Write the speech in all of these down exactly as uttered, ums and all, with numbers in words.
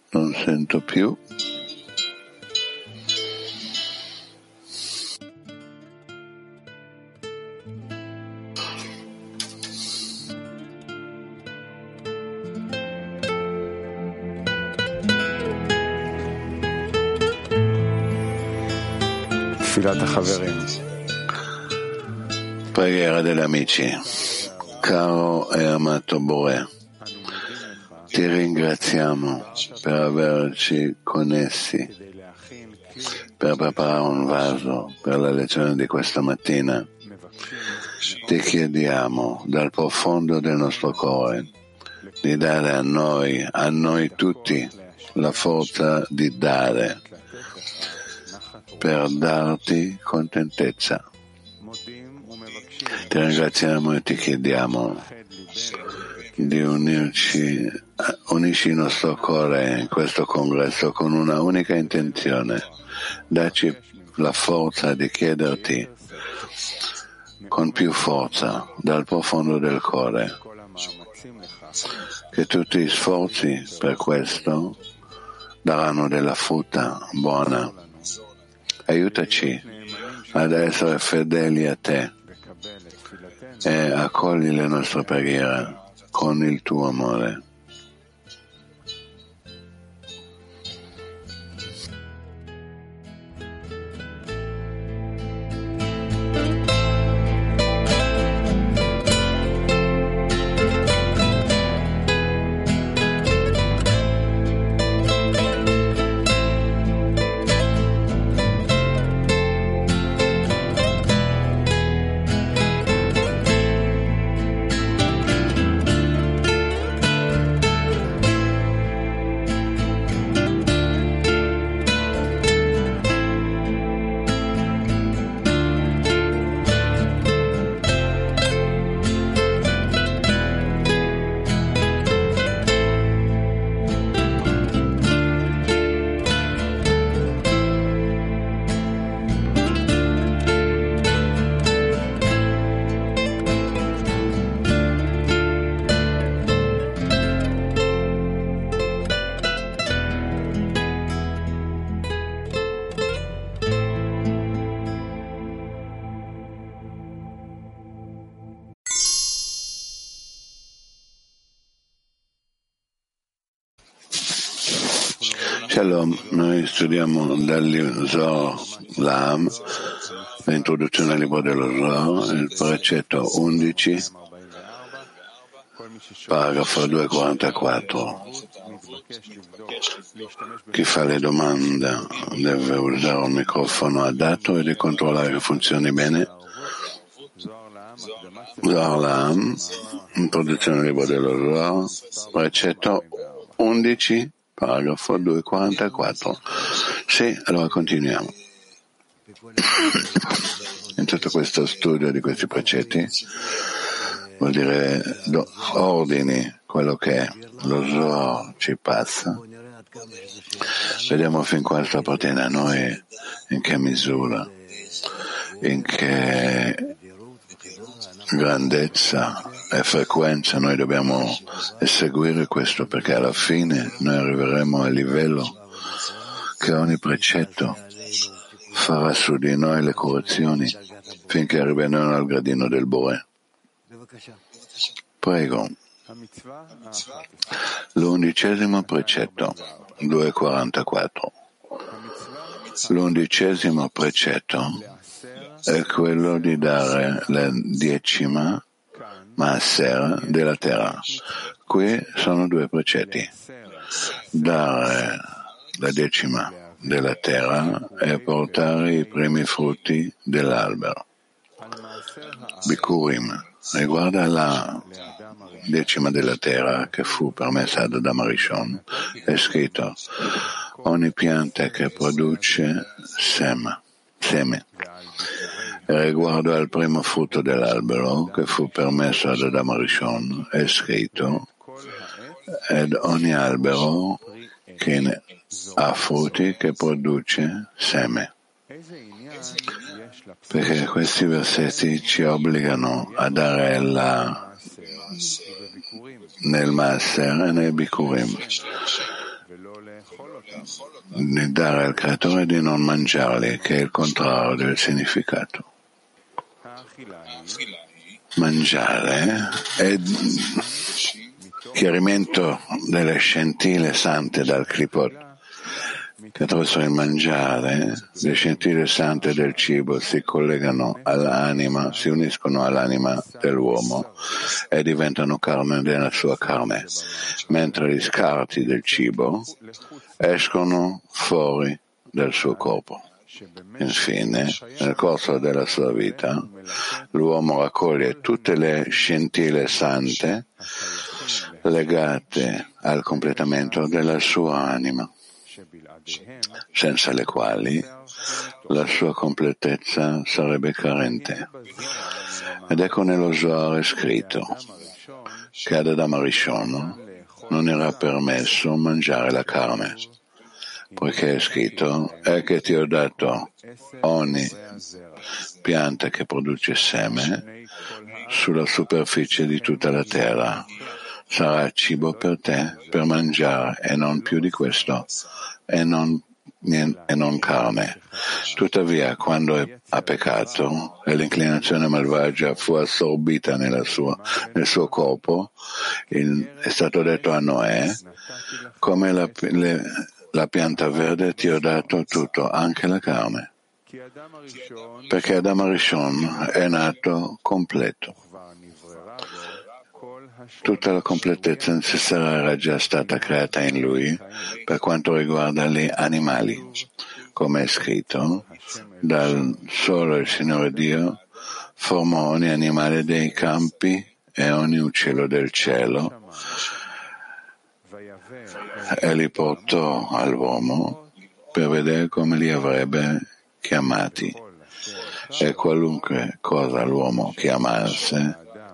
Non sento più. Preghiera degli amici. Caro e amato Bore, ti ringraziamo per averci connessi, per preparare un vaso per la lezione di questa mattina. Ti chiediamo dal profondo del nostro cuore di dare a noi, a noi tutti, la forza di dare, per darti contentezza. Ti ringraziamo e ti chiediamo di unirci, unisci il nostro cuore in questo congresso con una unica intenzione. Dacci la forza di chiederti con più forza dal profondo del cuore che tutti gli sforzi per questo daranno della frutta buona. Aiutaci ad essere fedeli a te e accogli le nostre preghiere con il tuo amore. Shalom, noi studiamo dal Zohar La'am, l'introduzione al libro dello Zohar, il precetto undici, paragrafo duecentoquarantaquattro. Chi fa le domande deve usare un microfono adatto e di controllare che funzioni bene. Zohar La'am, introduzione al libro dello Zohar, precetto undici, paragrafo duecentoquarantaquattro. Sì, allora continuiamo. In tutto questo studio di questi precetti, vuol dire do, ordini quello che lo Zohar ci passa. Vediamo fin quanto appartiene a noi, in che misura, in che grandezza e frequenza noi dobbiamo eseguire questo, perché alla fine noi arriveremo al livello che ogni precetto farà su di noi le correzioni finché arriveremo al gradino del Bore. Prego. L'undicesimo precetto, duecentoquarantaquattro. L'undicesimo precetto è quello di dare la decima Maaser della terra. Qui sono due precetti. Dare la decima della terra e portare i primi frutti dell'albero. Bikurim riguarda la decima della terra che fu permessa ad Adam Rishon. È scritto ogni pianta che produce seme. seme. E riguardo al primo frutto dell'albero che fu permesso ad Adam Rishon è scritto ed ogni albero che ha frutti che produce seme. Perché questi versetti ci obbligano a dare la nel Maaser e nei Bikurim di dare al creatore di non mangiarli, che è il contrario del significato. Mangiare è chiarimento delle scintille sante dal Klipot, che attraverso il mangiare le scintille sante del cibo si collegano all'anima, si uniscono all'anima dell'uomo e diventano carne della sua carne, mentre gli scarti del cibo escono fuori dal suo corpo. Infine, nel corso della sua vita, l'uomo raccoglie tutte le scintille sante legate al completamento della sua anima, senza le quali la sua completezza sarebbe carente. Ed ecco nello Zohar scritto che ad Adam Arishon non era permesso mangiare la carne, poiché è scritto: è che ti ho dato ogni pianta che produce seme sulla superficie di tutta la terra. Sarà cibo per te, per mangiare, e non più di questo, e non, e non carne. Tuttavia, quando ha peccato e l'inclinazione malvagia fu assorbita nella sua, nel suo corpo, il, è stato detto a Noè: come la, le, la pianta verde ti ho dato tutto, anche la carne, perché Adam Arishon è nato completo. Tutta la completezza necessaria era già stata creata in lui per quanto riguarda gli animali, come è scritto: dal solo il Signore Dio formò ogni animale dei campi e ogni uccello del cielo e li portò all'uomo per vedere come li avrebbe chiamati, e qualunque cosa l'uomo chiamasse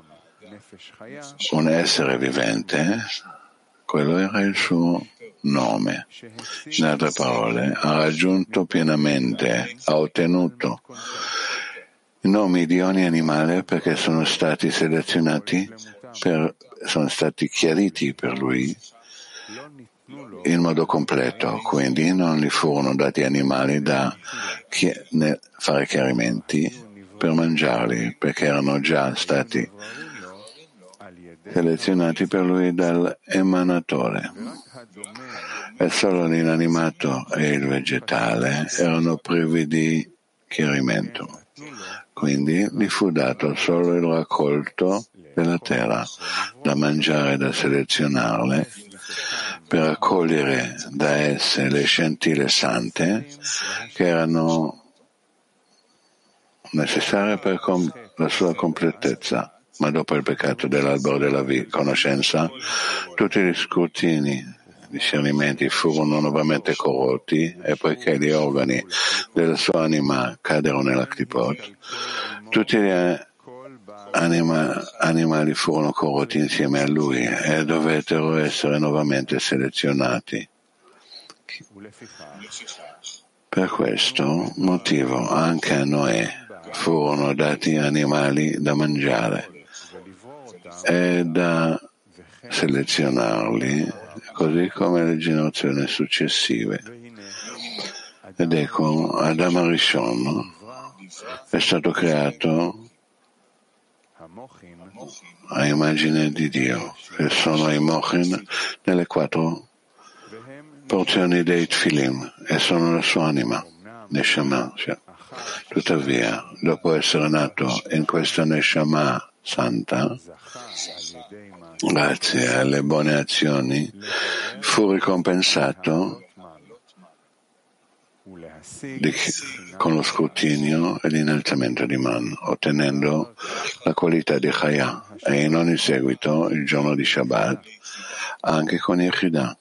un essere vivente, quello era il suo nome. In altre parole, ha raggiunto pienamente, ha ottenuto i nomi di ogni animale perché sono stati selezionati, per, sono stati chiariti per lui in modo completo, quindi non gli furono dati animali da fare chiarimenti per mangiarli, perché erano già stati selezionati per lui dall'emanatore. E solo l'inanimato e il vegetale erano privi di chiarimento. Quindi gli fu dato solo il raccolto della terra, da mangiare e da selezionarle, per raccogliere da esse le scintille sante che erano necessarie per com- la sua completezza. Ma dopo il peccato dell'albero della vi- conoscenza, tutti gli scrutini, discernimenti furono nuovamente corrotti, e poiché gli organi della sua anima caddero nella Klipot, tutti gli anima, animali furono corrotti insieme a lui e dovettero essere nuovamente selezionati. Per questo motivo anche a Noè furono dati animali da mangiare e da selezionarli, così come le generazioni successive. Ed ecco, Adam Arishon è stato creato a immagine di Dio, che sono i mochin nelle quattro porzioni dei Tfilim, e sono la sua anima, Neshama. Tuttavia, dopo essere nato in questa Neshama santa, grazie alle buone azioni, fu ricompensato di, con lo scrutinio e l'innalzamento di Man, ottenendo la qualità di Chaya, e in ogni seguito, il giorno di Shabbat, anche con Yechidah,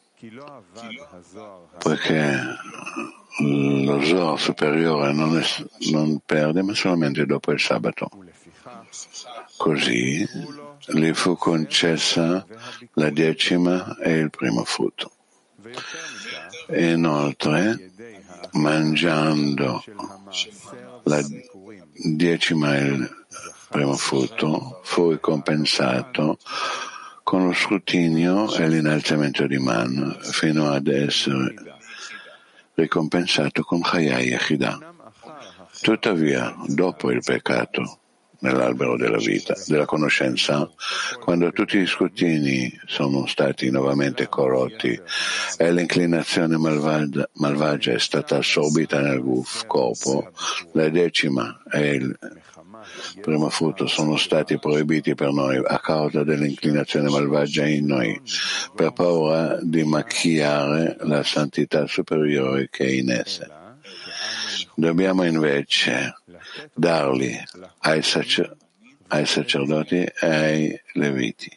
poiché lo Zohar superiore non, è, non perde, ma solamente dopo il sabato. Così gli fu concessa la decima e il primo frutto. E inoltre, mangiando la decima e il primo frutto, fu ricompensato con lo scrutinio e l'innalzamento di man fino ad essere ricompensato con Chaya Yechidah. Tuttavia, dopo il peccato, nell'albero della vita, della conoscenza, quando tutti gli scrutini sono stati nuovamente corrotti e l'inclinazione malvagia, malvagia è stata assorbita nel guf, corpo, la decima e il primo frutto sono stati proibiti per noi a causa dell'inclinazione malvagia in noi, per paura di macchiare la santità superiore che è in esse. Dobbiamo invece darli ai, sacer- ai sacerdoti e ai leviti.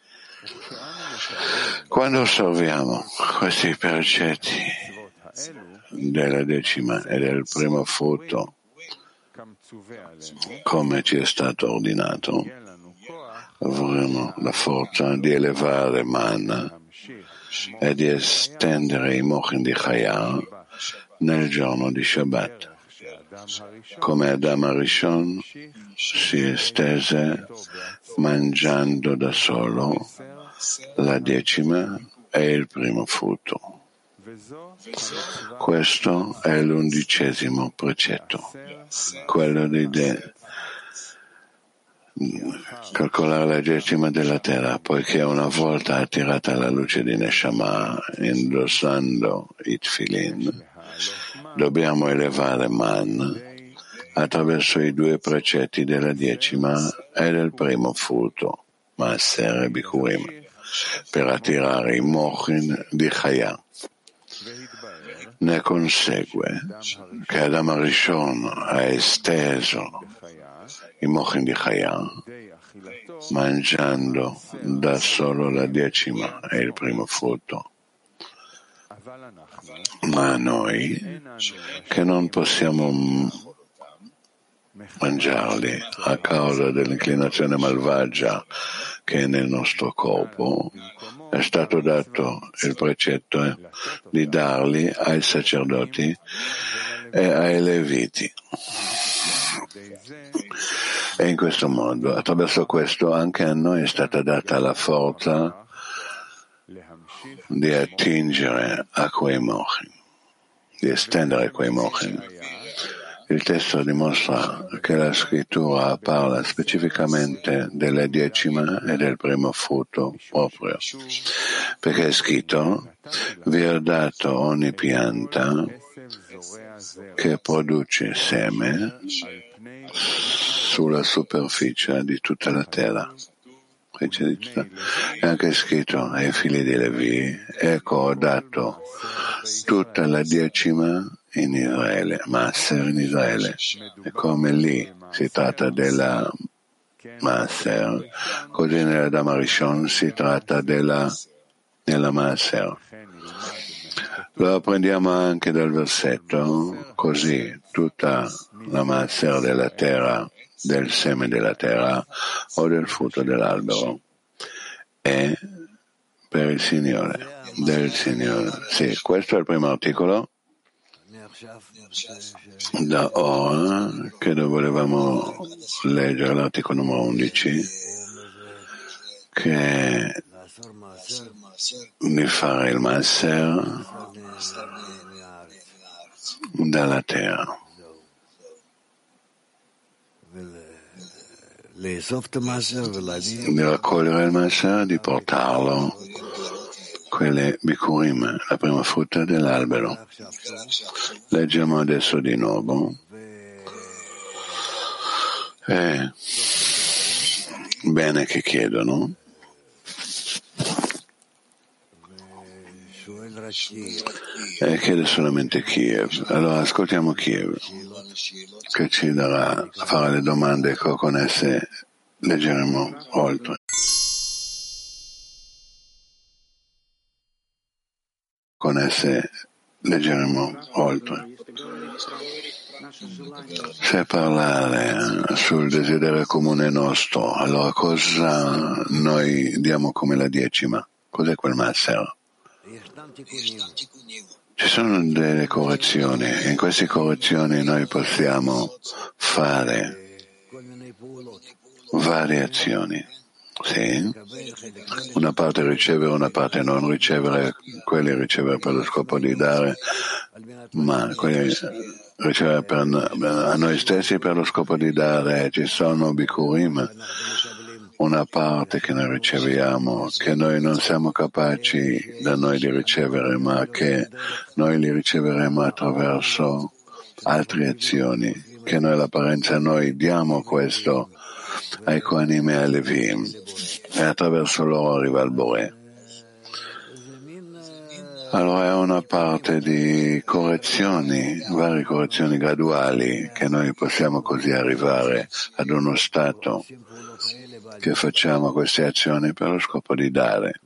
Quando osserviamo questi precetti della decima e del primo frutto, come ci è stato ordinato, avremo la forza di elevare man e di estendere i mochin di Chaya nel giorno di Shabbat. Come Adam Arishon si estese mangiando da solo la decima e il primo frutto. Questo è l'undicesimo precetto, quello di de- calcolare la decima della terra, poiché una volta attirata la luce di Neshama indossando i tefillin, dobbiamo elevare man attraverso i due precetti della decima e del primo frutto, Maaser e Bikurim, per attirare i mochin di Chaya. Ne consegue che Adam Arishon ha esteso i mochin di Chaya mangiando da solo la decima e il primo frutto. Ma noi, che non possiamo mangiarli a causa dell'inclinazione malvagia che è nel nostro corpo, è stato dato il precetto di darli ai sacerdoti e ai leviti. E in questo modo, attraverso questo, anche a noi è stata data la forza di attingere a quei mochin, di estendere quei mochin. Il testo dimostra che la scrittura parla specificamente della decima e del primo frutto proprio, perché è scritto: vi ho dato ogni pianta che produce seme sulla superficie di tutta la terra. È anche scritto ai figli di Levi: ecco, ho dato tutta la decima in Israele, Maaser in Israele. E come lì si tratta della Maaser, così nell'Adam Arishon si tratta della, della Maaser. Lo apprendiamo anche dal versetto: così tutta la Maaser della terra, del seme della terra o del frutto dell'albero è per il Signore, del Signore. Sì, questo è il primo articolo. Da ora che volevamo leggere l'articolo numero undici, che di fare il Maaser dalla terra, di raccogliere il Maaser, di portarlo, quelle Bikurim, la prima frutta dell'albero. Leggiamo adesso di nuovo. Eh, bene che chiedono. E chiede solamente Kiev. Allora ascoltiamo Kiev, che ci darà a fare le domande che con esse leggeremo oltre. Con esse leggeremo oltre. Se parlare sul desiderio comune nostro, allora cosa noi diamo come la decima? Cos'è quel Maaser? Ci sono delle correzioni e in queste correzioni noi possiamo fare varie azioni. Sì, una parte ricevere, una parte non ricevere, quelli ricevere per lo scopo di dare, ma quelli ricevere per, a noi stessi per lo scopo di dare. Ci sono bikurim, una parte che noi riceviamo, che noi non siamo capaci da noi di ricevere, ma che noi li riceveremo attraverso altre azioni, che noi l'apparenza noi diamo questo ai Kohanim e ai Levim e attraverso loro arriva il Boré. Allora è una parte di correzioni, varie correzioni graduali, che noi possiamo così arrivare ad uno stato che facciamo queste azioni per lo scopo di dare.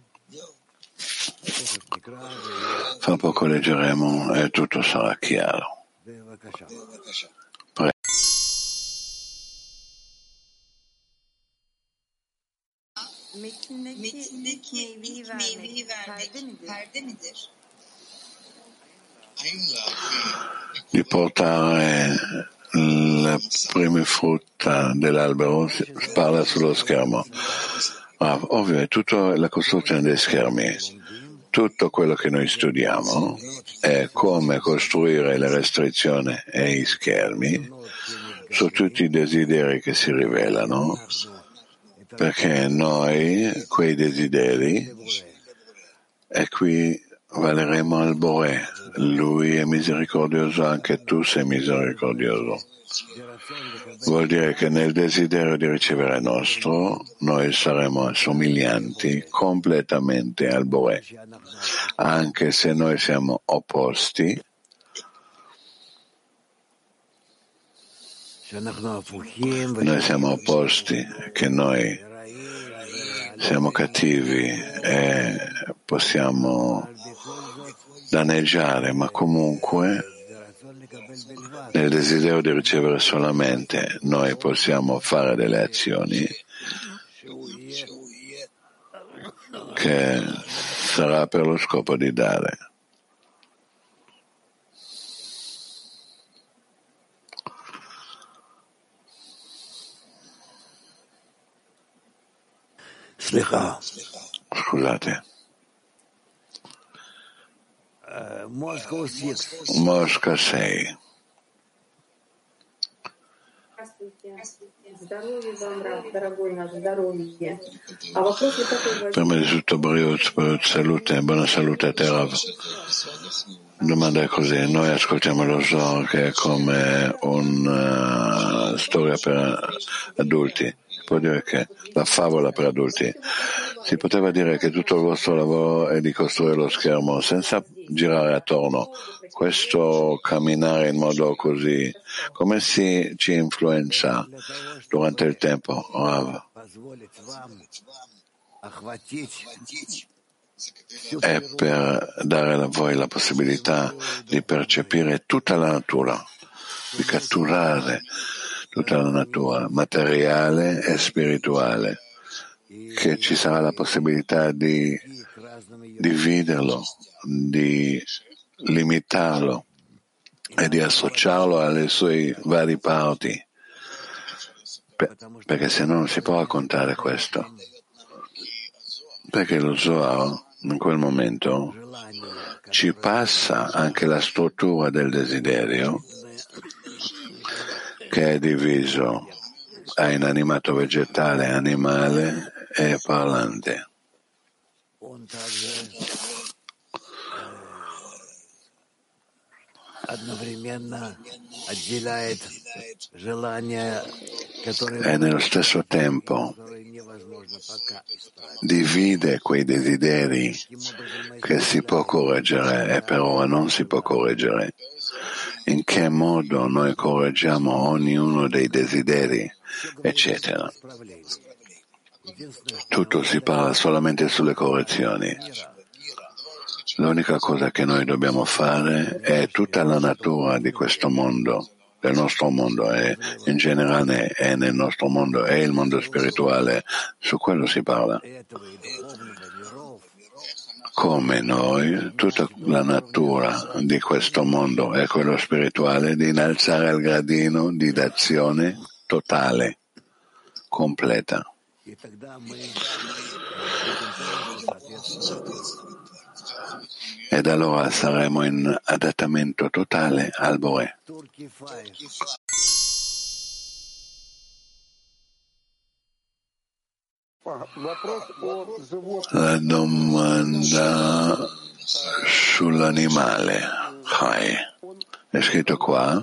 Fra poco leggeremo e tutto sarà chiaro. Prego. Metindeki meyveyi vermek perde midir? Di portare le prime frutta dell'albero si parla sullo schermo. Ah, ovvio, è tutta la costruzione dei schermi. Tutto quello che noi studiamo è come costruire le restrizioni e i schermi su tutti i desideri che si rivelano, perché noi, quei desideri, e qui valeremo al Boré. Lui è misericordioso, anche tu sei misericordioso. Vuol dire che nel desiderio di ricevere nostro, noi saremo assomiglianti completamente al Boré, anche se noi siamo opposti. Noi siamo opposti, che noi siamo cattivi e possiamo danneggiare, ma comunque nel desiderio di ricevere solamente noi possiamo fare delle azioni che sarà per lo scopo di dare. Scusate. Mosca sei. Prima di tutto, Briut, salute, buona salute a te, Rav. Domanda è così, noi ascoltiamo lo Zohar che è come una uh, storia per adulti. Si può dire che la favola per adulti. Si poteva dire che tutto il vostro lavoro è di costruire lo schermo senza girare attorno. Questo camminare in modo così, come si ci influenza durante il tempo, Rav? È per dare a voi la possibilità di percepire tutta la natura, di catturare tutta la natura, materiale e spirituale, che ci sarà la possibilità di dividerlo, di limitarlo e di associarlo alle sue varie parti, perché se no non si può raccontare questo. Perché lo Zohar in quel momento ci passa anche la struttura del desiderio, che è diviso a inanimato, vegetale, animale e parlante. E nello stesso tempo divide quei desideri che si può correggere e per ora non si può correggere. In che modo noi correggiamo ognuno dei desideri, eccetera. Tutto si parla solamente sulle correzioni. L'unica cosa che noi dobbiamo fare è tutta la natura di questo mondo, del nostro mondo e in generale è nel nostro mondo e il mondo spirituale, su quello si parla. Come noi, tutta la natura di questo mondo e quello spirituale, di innalzare il gradino di d'azione totale, completa. Ed allora saremo in adattamento totale al Boré. La domanda sull'animale Chai. È scritto qua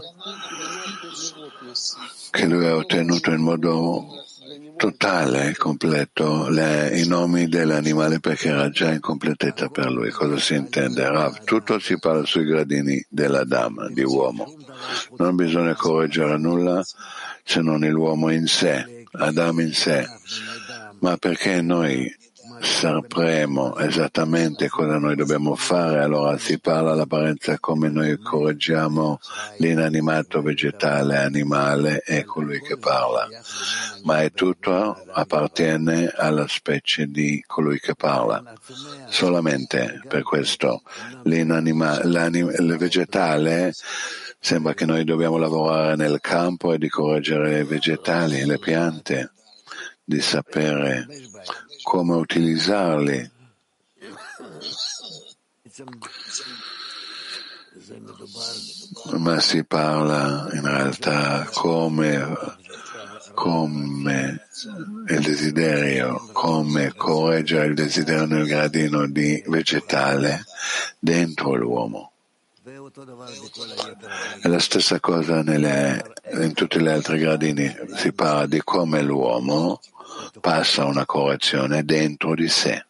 che lui ha ottenuto in modo totale e completo le, i nomi dell'animale perché era già in completezza per lui. Cosa si intende? Rav, tutto si parla sui gradini dell'Adam, di uomo. Non bisogna correggere nulla se non l'uomo in sé, Adam in sé. Ma perché noi sapremo esattamente cosa noi dobbiamo fare, allora si parla all'apparenza come noi correggiamo l'inanimato vegetale, animale e colui che parla, ma è tutto appartiene alla specie di colui che parla. Solamente per questo l'inanima, l'anim, il vegetale sembra che noi dobbiamo lavorare nel campo e di correggere i vegetali, le piante, di sapere come utilizzarli. Ma si parla in realtà come, come il desiderio, come correggere il desiderio nel gradino di vegetale dentro l'uomo. È la stessa cosa nelle, in tutti gli altri gradini, si parla di come l'uomo passa una correzione dentro di sé.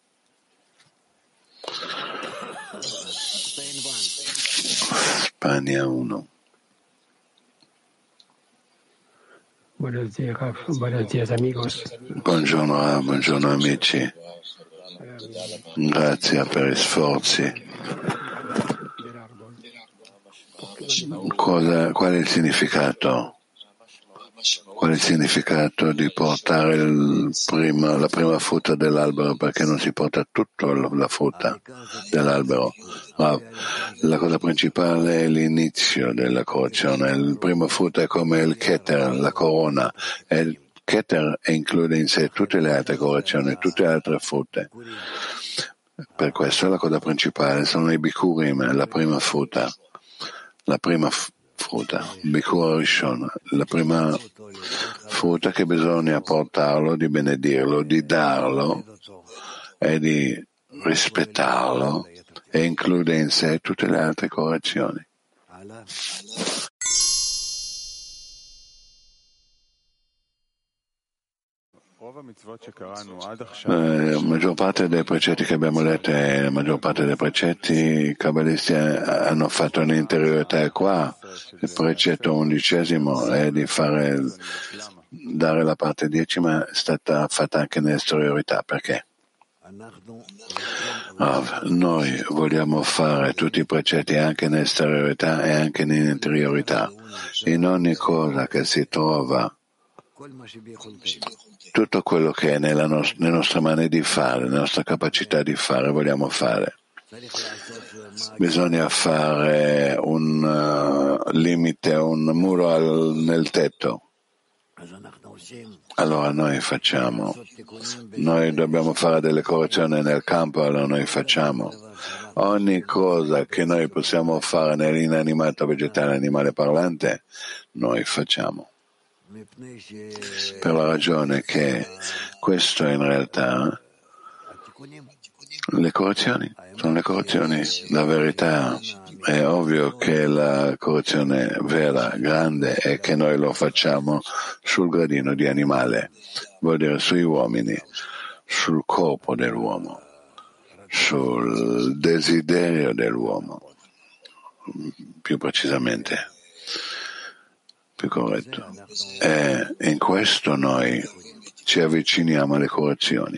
Spagna uno. Buenos días, buenos días amigos. Buongiorno, buongiorno amici. Grazie per gli sforzi. Cosa, qual è il significato? Qual è il significato di portare il prima, la prima frutta dell'albero? Perché non si porta tutta la frutta dell'albero? Ma la cosa principale è l'inizio della correzione. Il primo frutto è come il keter, la corona. E il keter include in sé tutte le altre correzioni, tutte le altre frutte. Per questo la cosa principale sono i bikurim, la prima frutta. La prima frutta, Bikur Rishon, la prima frutta che bisogna portarlo, di benedirlo, di darlo e di rispettarlo e include in sé tutte le altre correzioni. La maggior parte dei precetti che abbiamo letto e la maggior parte dei precetti i kabbalisti hanno fatto un'interiorità qua. Il precetto undicesimo è di fare dare la parte decima, è stata fatta anche nell'esteriorità. Perché? Ah, noi vogliamo fare tutti i precetti anche nell'esteriorità e anche nell'interiorità. In ogni cosa che si trova tutto quello che è nella nos- nelle nostre mani di fare, nella nostra capacità di fare, vogliamo fare. Bisogna fare un uh, limite, un muro al, nel tetto. Allora noi facciamo. Noi dobbiamo fare delle correzioni nel campo, allora noi facciamo. Ogni cosa che noi possiamo fare nell'inanimato vegetale, animale parlante, noi facciamo. Per la ragione che questo in realtà le correzioni sono le correzioni, la verità è ovvio che la correzione vera, grande è che noi lo facciamo sul gradino di animale, vuol dire sui uomini, sul corpo dell'uomo, sul desiderio dell'uomo, più precisamente. Più corretto. E in questo noi ci avviciniamo alle correzioni.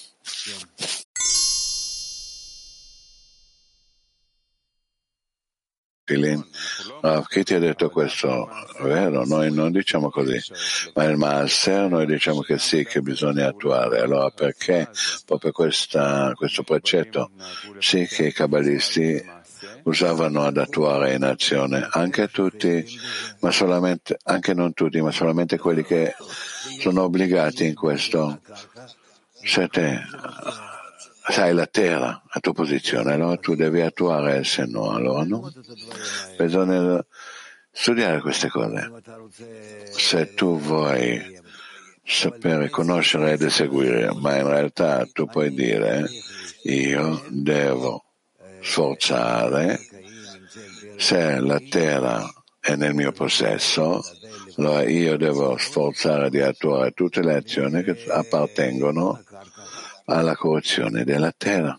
Ah, chi ti ha detto questo? È vero, noi non diciamo così, ma il Maaser noi diciamo che sì, che bisogna attuare. Allora perché proprio questa, questo precetto? Sì che i kabbalisti usavano ad attuare in azione, anche tutti, ma solamente, anche non tutti, ma solamente quelli che sono obbligati in questo. Se te sai la terra, la tua posizione, allora tu devi attuare, se no, allora no. Bisogna studiare queste cose. Se tu vuoi sapere, conoscere ed eseguire, ma in realtà tu puoi dire io devo sforzare, se la terra è nel mio possesso, allora io devo sforzare di attuare tutte le azioni che appartengono alla corruzione della terra.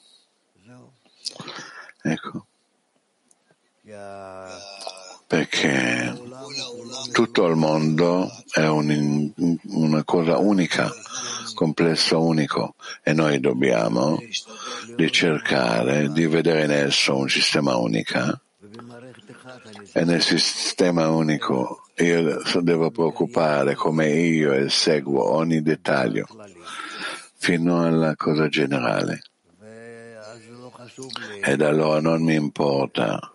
Ecco. Perché tutto il mondo è un, una cosa unica, complesso unico, e noi dobbiamo di cercare di vedere in esso un sistema unico, e nel sistema unico io devo preoccupare come io eseguo ogni dettaglio fino alla cosa generale, ed allora non mi importa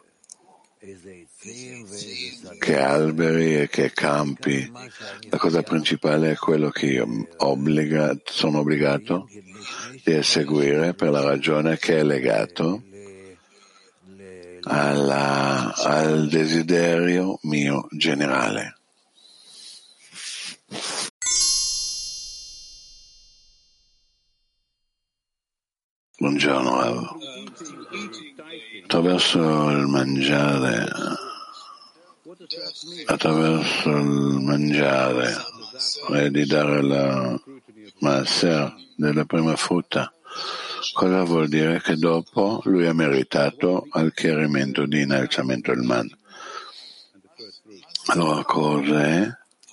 che alberi e che campi, la cosa principale è quello che io obbliga, sono obbligato di eseguire per la ragione che è legato alla, al desiderio mio generale. Buongiorno, Rav. Attraverso il mangiare attraverso il mangiare e di dare la maaser della prima frutta, cosa vuol dire? Che dopo lui ha meritato al chiarimento di innalzamento del man. Allora cos'è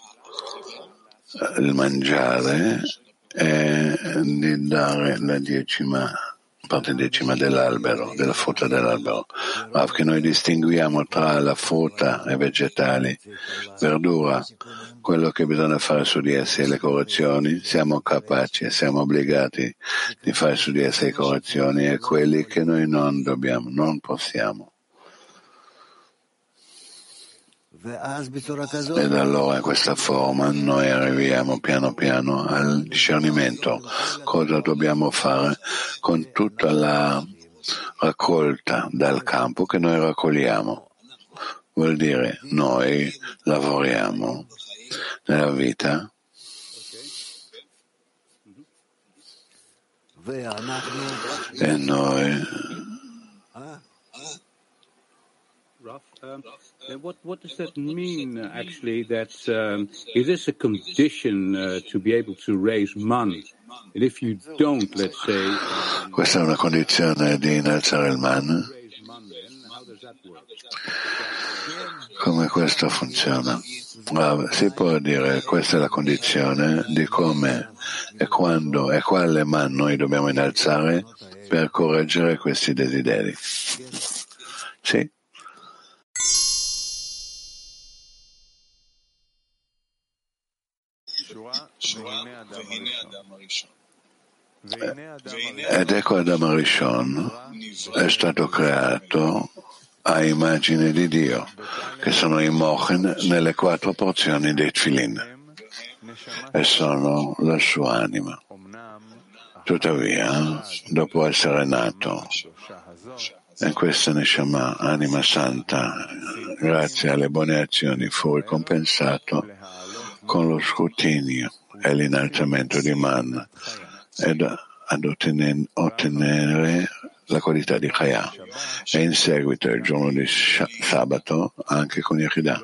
il mangiare? È di dare la decima parte decima dell'albero, della frutta dell'albero, ma che noi distinguiamo tra la frutta e vegetali, verdura, quello che bisogna fare su di essi e le correzioni, siamo capaci e siamo obbligati di fare su di essi le correzioni, e quelli che noi non dobbiamo, non possiamo. Ed allora in questa forma noi arriviamo piano piano al discernimento, cosa dobbiamo fare con tutta la raccolta dal campo che noi raccogliamo. Vuol dire noi lavoriamo nella vita e noi Um, what, what does that mean, actually, that um, it is a condition uh, to be able to raise man? And if you don't, let's say... Um, Questa è una condizione di innalzare il man. Come questo funziona? Ah, si può dire che questa è la condizione di come e quando e quale man noi dobbiamo innalzare per correggere questi desideri. Sì. Ed ecco Adam Arishon è stato creato a immagine di Dio, che sono i mochen nelle quattro porzioni dei tfilin, e sono la sua anima. Tuttavia, dopo essere nato, e questa Neshama, anima santa, grazie alle buone azioni, fu ricompensato con lo scrutinio e l'innalzamento di man, ed ad ottenere, ottenere la qualità di Chaya, e in seguito il giorno di sabato anche con Yechidah,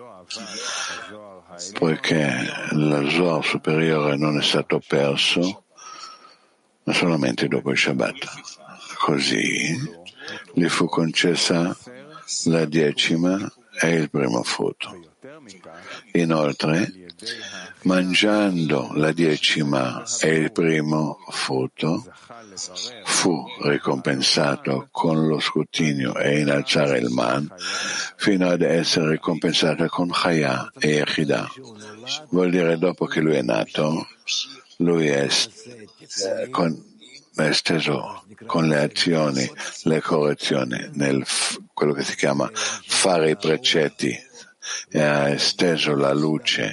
poiché lo Zohar superiore non è stato perso, ma solamente dopo il Shabbat. Così gli fu concessa la decima e il primo frutto. Inoltre, mangiando la decima e il primo frutto, fu ricompensato con lo scrutinio e innalzare il man, fino ad essere ricompensato con Chaya e Yechidah. Vuol dire, dopo che lui è nato, lui è, eh, con, è steso con le azioni, le correzioni nel f- quello che si chiama fare i precetti, e ha esteso la luce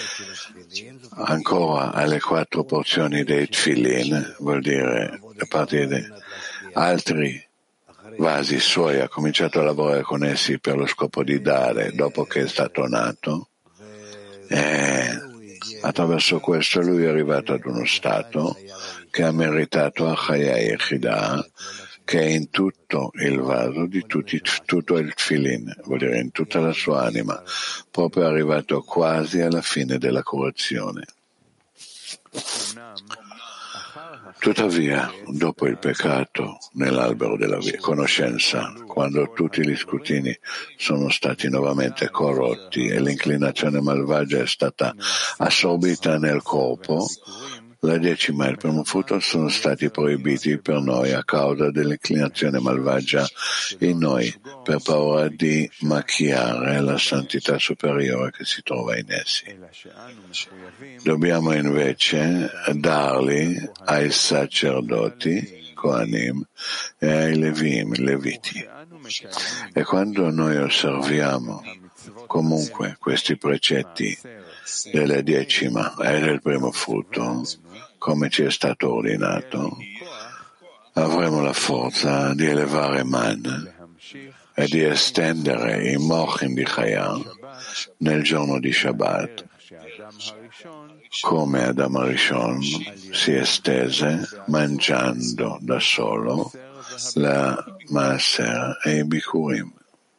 ancora alle quattro porzioni dei Tfilin, vuol dire a partire da altri vasi suoi, ha cominciato a lavorare con essi per lo scopo di dare dopo che è stato nato, e attraverso questo lui è arrivato ad uno stato che ha meritato a Chaya Yechidah, che è in tutto il vaso di tutti, tutto il Tfilin, vuol dire in tutta la sua anima, proprio è arrivato quasi alla fine della correzione. Tuttavia, dopo il peccato nell'albero della conoscenza, quando tutti gli scrutini sono stati nuovamente corrotti e l'inclinazione malvagia è stata assorbita nel corpo, la decima e il primo frutto sono stati proibiti per noi a causa dell'inclinazione malvagia in noi, per paura di macchiare la santità superiore che si trova in essi. Dobbiamo invece darli ai sacerdoti, Kohanim, e ai Levim, Leviti. E quando noi osserviamo comunque questi precetti della decima e del primo frutto, come ci è stato ordinato, avremo la forza di elevare Man e di estendere i Mochin di Chaya nel giorno di Shabbat, come Adam Arishon si estese mangiando da solo la Maaser e i Bikurim.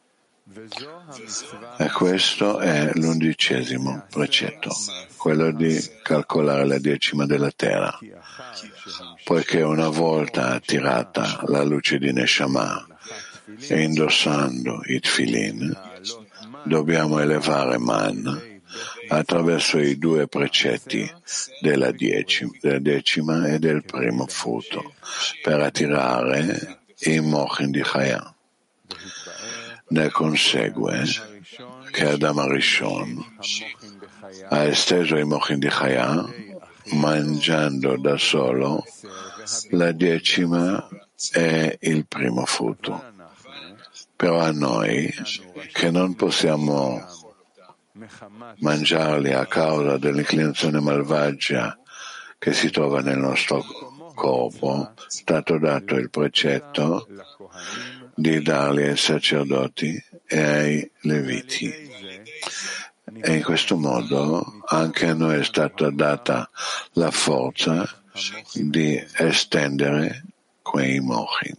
E questo è l'undicesimo precetto, quello di calcolare la decima della terra, poiché una volta attirata la luce di Neshama e indossando i Tfilin, dobbiamo elevare Man attraverso i due precetti della decima, della decima e del primo frutto, per attirare i Mochin di Chaya. Ne consegue che Adam Arishon ha esteso i Mochin di Chaya mangiando da solo la decima e il primo frutto. Però a noi, che non possiamo mangiarli a causa dell'inclinazione malvagia che si trova nel nostro corpo, è stato dato il precetto di darli ai sacerdoti e ai Leviti. E in questo modo anche a noi è stata data la forza di estendere quei Mochin.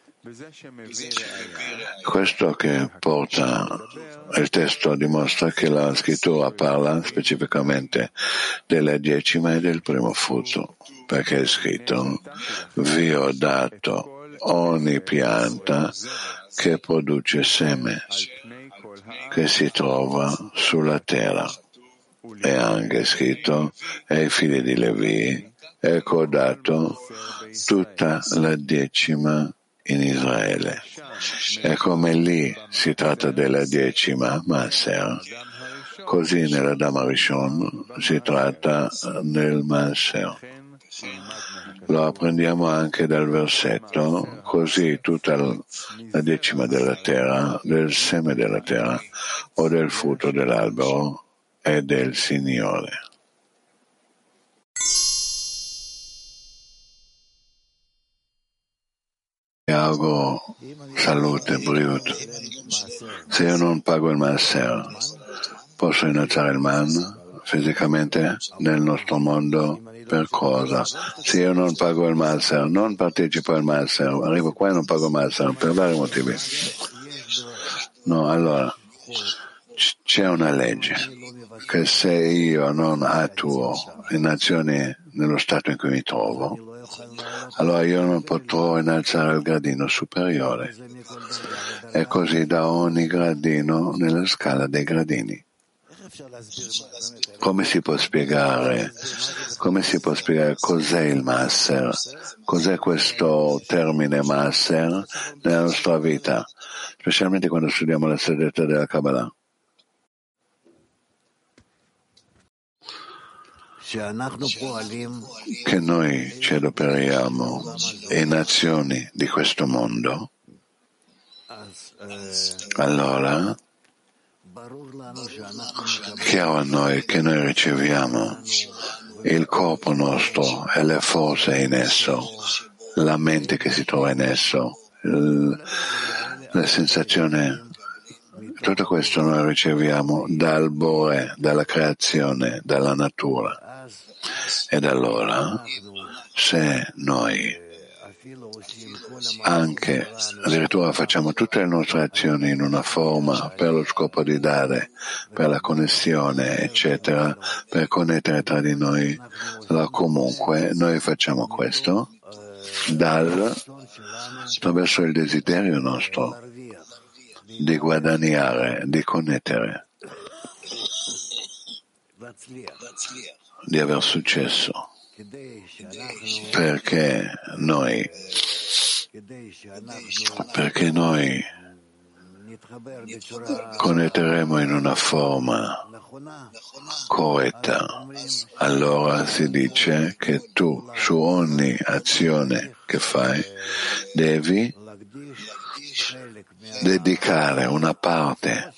Questo che porta il testo dimostra che la scrittura parla specificamente della decima e del primo frutto, perché è scritto: vi ho dato ogni pianta che produce seme, che si trova sulla terra. È anche scritto ai figli di Levi: ecco ho dato tutta la decima in Israele. E come lì si tratta della decima Maaser, così nell'Adam Arishon si tratta del Maaser. Lo apprendiamo anche dal versetto: così tutta la decima della terra, del seme della terra o del frutto dell'albero è del Signore. Vi auguro salute, briut. Se io non pago il Maaser, posso innalzare il Man fisicamente nel nostro mondo? Per cosa? Se io non pago il Maaser, non partecipo al Maaser, arrivo qua e non pago il Maaser per vari motivi. No, allora c'è una legge che se io non attuo in azioni nello stato in cui mi trovo, allora io non potrò innalzare il gradino superiore, e così da ogni gradino nella scala dei gradini. Come si può spiegare, come si può spiegare cos'è il Maaser? Cos'è questo termine Maaser nella nostra vita, specialmente quando studiamo la segreta della Kabbalah? Che noi ci adoperiamo in azioni di questo mondo, allora chiaro a noi che noi riceviamo il corpo nostro e le forze in esso, la mente che si trova in esso, le sensazioni. Tutto questo noi riceviamo dal Bore, dalla creazione, dalla natura. Ed allora, se noi anche addirittura facciamo tutte le nostre azioni in una forma per lo scopo di dare, per la connessione, eccetera, per connettere tra di noi, allora comunque noi facciamo questo dal, attraverso il desiderio nostro di guadagnare, di connettere, di aver successo, perché noi, perché noi connetteremo in una forma corretta. Allora si dice che tu su ogni azione che fai devi dedicare una parte,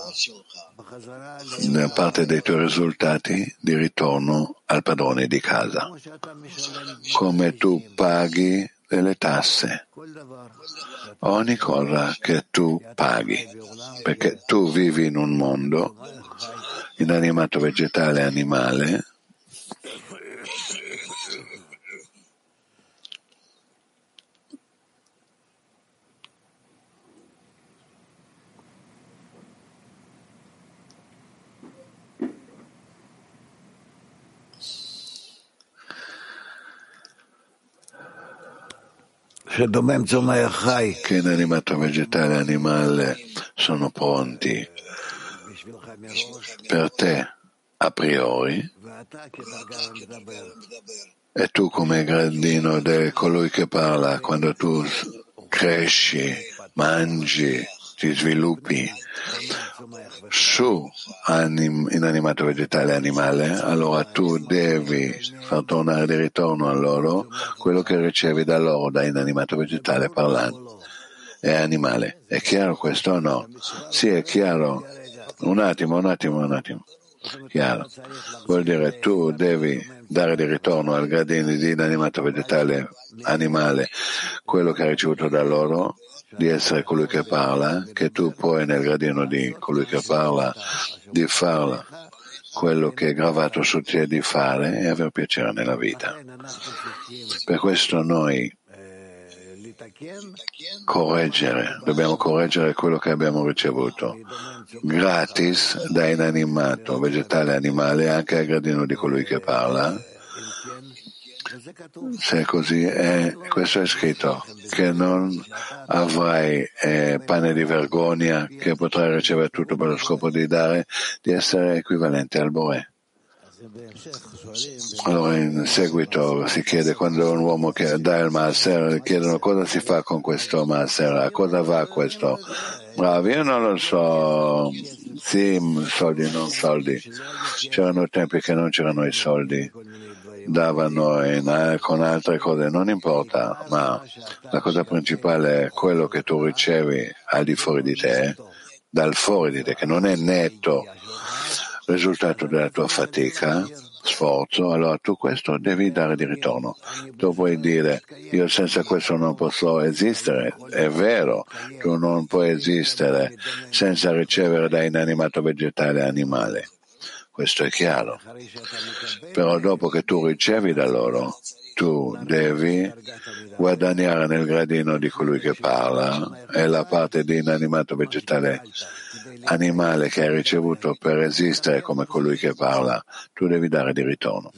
una parte dei tuoi risultati di ritorno al padrone di casa, come tu paghi delle tasse, ogni cosa che tu paghi, perché tu vivi in un mondo inanimato, vegetale, animale, che inanimato, vegetale e animale sono pronti per te a priori, e tu come gradino di colui che parla, quando tu cresci, mangi, ti sviluppi su anim, inanimato, vegetale e animale, allora tu devi far tornare di ritorno a loro quello che ricevi da loro, da inanimato, vegetale parlando e animale. È chiaro questo o no? Sì, è chiaro. Un attimo, un attimo, un attimo. Chiaro. Vuol dire tu devi dare di ritorno al gradino di inanimato, vegetale, animale quello che hai ricevuto da loro, di essere colui che parla, che tu puoi nel gradino di colui che parla di farla quello che è gravato su te di fare e avere piacere nella vita. Per questo noi correggere, dobbiamo correggere quello che abbiamo ricevuto gratis da inanimato, vegetale, animale, anche al gradino di colui che parla. Se è così, eh, questo è scritto, che non avrai eh, pane di vergogna, che potrai ricevere tutto per lo scopo di dare, di essere equivalente al Bore. Allora in seguito si chiede, quando un uomo che dà il Maaser, chiedono cosa si fa con questo Maaser, a cosa va questo? Bravo, io non lo so, sì, soldi, non soldi. C'erano tempi che non c'erano i soldi, davano in, con altre cose, non importa, ma la cosa principale è quello che tu ricevi al di fuori di te, dal fuori di te, che non è netto risultato della tua fatica, sforzo, allora tu questo devi dare di ritorno. Tu puoi dire, io senza questo non posso esistere, è vero, tu non puoi esistere senza ricevere da inanimato, vegetale e animale, questo è chiaro, però dopo che tu ricevi da loro, tu devi guadagnare nel gradino di colui che parla e la parte di inanimato, vegetale, animale che hai ricevuto per esistere come colui che parla, tu devi dare di ritorno.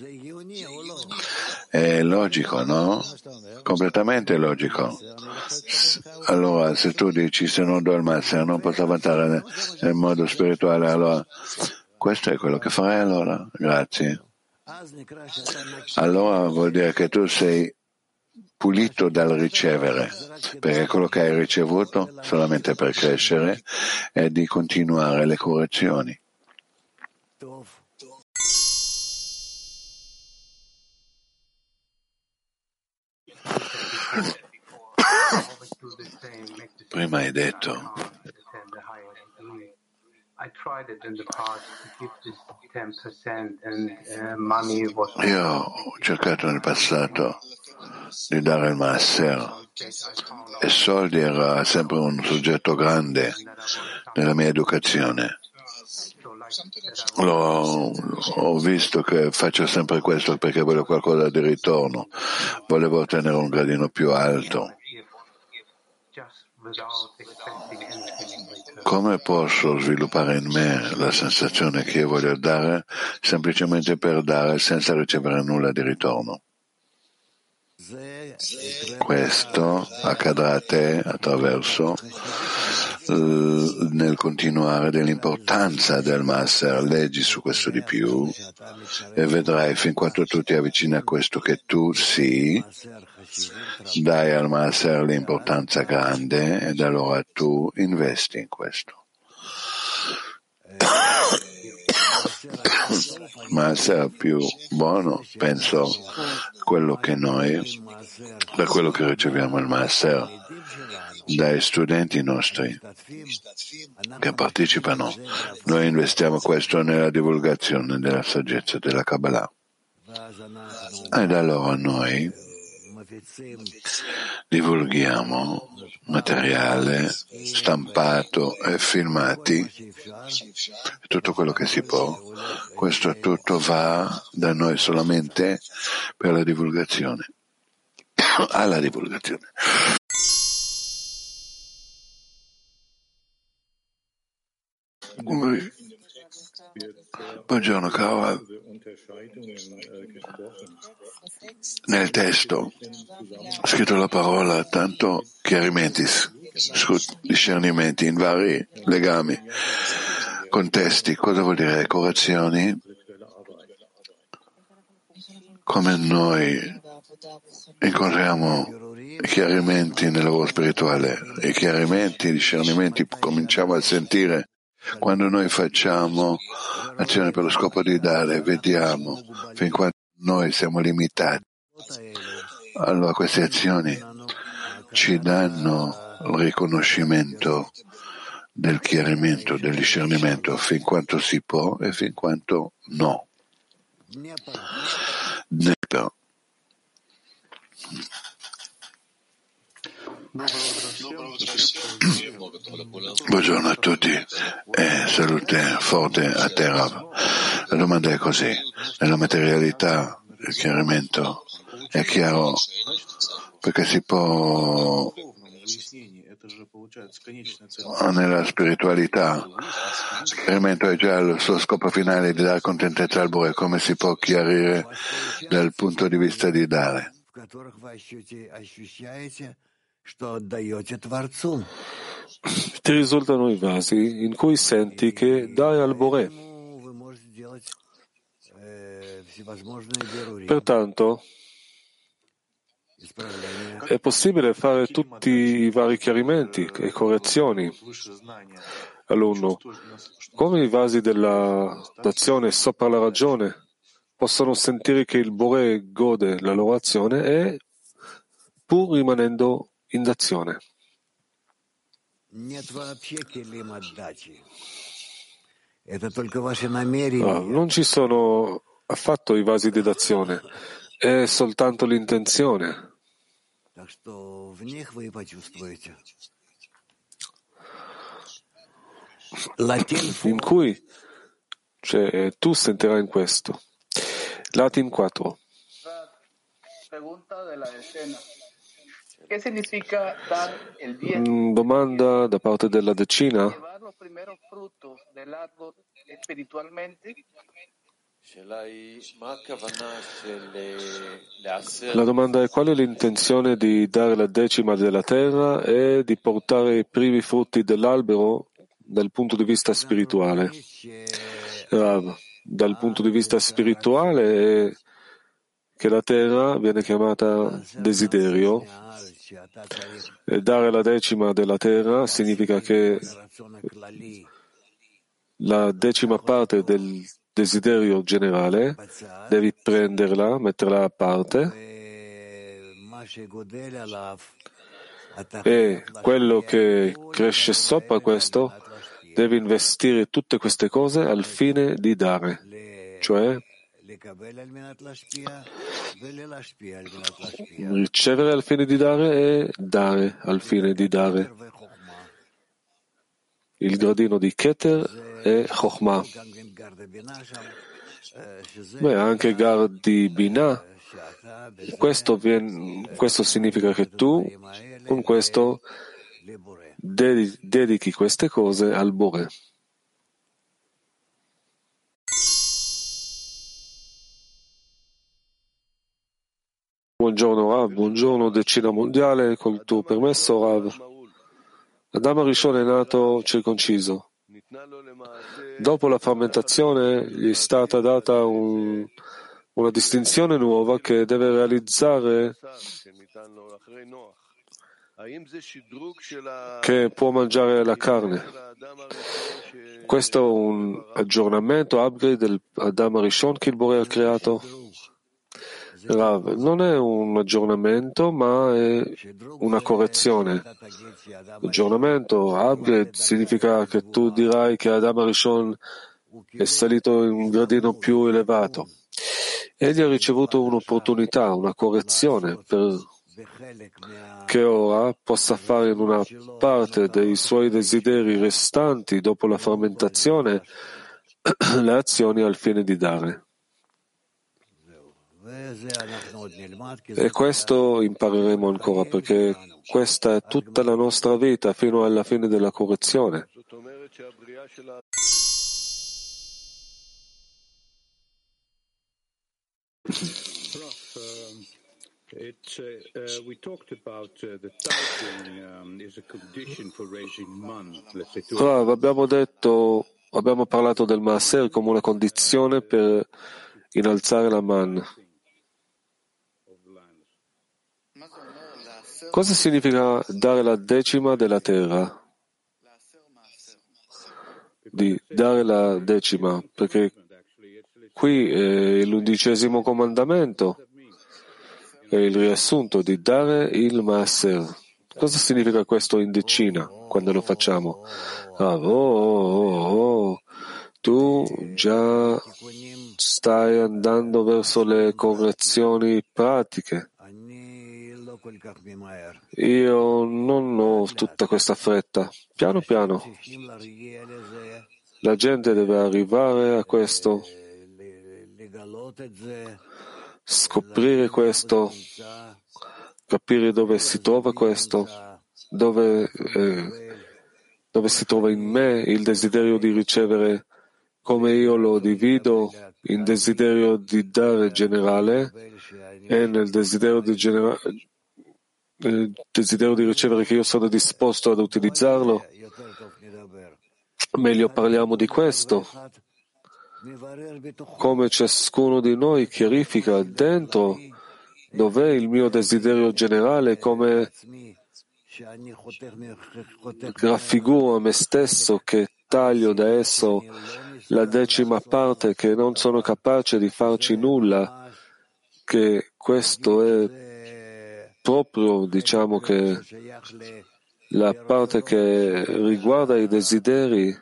È logico, no? Completamente logico. Allora, se tu dici se non do il Maaser non posso avanzare nel, nel modo spirituale, allora questo è quello che farai allora. Grazie. Allora vuol dire che tu sei pulito dal ricevere, perché quello che hai ricevuto solamente per crescere è di continuare le correzioni. Prima hai detto Io ho cercato nel passato di dare il Maaser e soldi era sempre un soggetto grande nella mia educazione. L'ho, ho visto che faccio sempre questo perché voglio qualcosa di ritorno, volevo ottenere un gradino più alto. Come posso sviluppare in me la sensazione che io voglio dare semplicemente per dare senza ricevere nulla di ritorno? Questo accadrà a te attraverso l- nel continuare dell'importanza del Maaser. Leggi su questo di più e vedrai fin quanto tu ti avvicini a questo che tu sì dai al Maaser l'importanza grande ed allora tu investi in questo. Maaser più buono, penso, quello che noi, da quello che riceviamo il Maaser dai studenti nostri che partecipano, noi investiamo questo nella divulgazione della saggezza della Kabbalah. Ed allora noi divulghiamo materiale stampato e filmati, tutto quello che si può. Questo tutto va da noi solamente per la divulgazione, alla divulgazione. Buongiorno caro. Nel testo ho scritto la parola tanto chiarimenti, discernimenti in vari legami, contesti. Cosa vuol dire correzioni? Come noi incontriamo i chiarimenti nel lavoro spirituale, i chiarimenti, i discernimenti cominciamo a sentire quando noi facciamo azione per lo scopo di dare, vediamo fin quando noi siamo limitati. Allora queste azioni ci danno il riconoscimento del chiarimento, del discernimento, fin quanto si può e fin quanto no. Però, buongiorno a tutti e salute forte a terra. La domanda è così: nella materialità il chiarimento è chiaro perché si può, nella spiritualità il chiarimento è già il suo scopo finale di dare contentezza al Bore. Come si può chiarire dal punto di vista di dare? Ti risultano i vasi in cui senti che dai al Boré. Pertanto è possibile fare tutti i vari chiarimenti e correzioni all'uno. Come i vasi della d'azione sopra la ragione possono sentire che il Boré gode la loro azione e pur rimanendo in d'azione. Ah, non ci sono affatto i vasi di d'azione, è soltanto l'intenzione. In cui cioè, tu sentirai in questo. Latin quattro. Domanda da parte della decina. La domanda è: qual è l'intenzione di dare la decima della terra e di portare i primi frutti dell'albero dal punto di vista spirituale? Rav, dal punto di vista spirituale è che la terra viene chiamata desiderio e dare la decima della terra significa che la decima parte del desiderio generale devi prenderla, metterla a parte e quello che cresce sopra questo devi investire tutte queste cose al fine di dare, cioè ricevere al fine di dare e dare al fine di dare. Il gradino di Keter e Chokhmah. Beh, anche Gar di Binah. Questo, viene, questo significa che tu con questo dedichi queste cose al Bore. Buongiorno Rav, buongiorno Decina Mondiale, col tuo permesso Rav. Adam Arishon è nato circonciso. Dopo la frammentazione gli è stata data un, una distinzione nuova che deve realizzare, che può mangiare la carne. Questo è un aggiornamento, upgrade del Adam Arishon che il Bore ha creato. Rav, non è un aggiornamento, ma è una correzione. Aggiornamento, upgrade, significa che tu dirai che Adam Arishon è salito in un gradino più elevato. Egli ha ricevuto un'opportunità, una correzione, per che ora possa fare in una parte dei suoi desideri restanti dopo la frammentazione le azioni al fine di dare. E questo impareremo ancora, perché questa è tutta la nostra vita fino alla fine della correzione. It's, uh, uh, we talked about uh, the tithing um, is a condition for raising man. Let's say, Rav, abbiamo detto, abbiamo parlato del Maaser come una condizione per innalzare la man. Cosa significa dare la decima della terra? Di dare la decima, perché qui è l'undicesimo comandamento. È il riassunto di dare il Maaser. Cosa significa questo in decina quando lo facciamo? Ah, oh, oh, oh, tu già stai andando verso le correzioni pratiche. Io non ho tutta questa fretta. Piano piano. La gente deve arrivare a questo, scoprire questo, capire dove si trova questo, dove, eh, dove si trova in me il desiderio di ricevere, come io lo divido in desiderio di dare generale e nel desiderio di, genera- nel desiderio di ricevere che io sono disposto ad utilizzarlo. Meglio parliamo di questo. Come ciascuno di noi chiarifica dentro dov'è il mio desiderio generale, come raffiguro a me stesso che taglio da esso la decima parte, che non sono capace di farci nulla, che questo è proprio, diciamo che la parte che riguarda i desideri.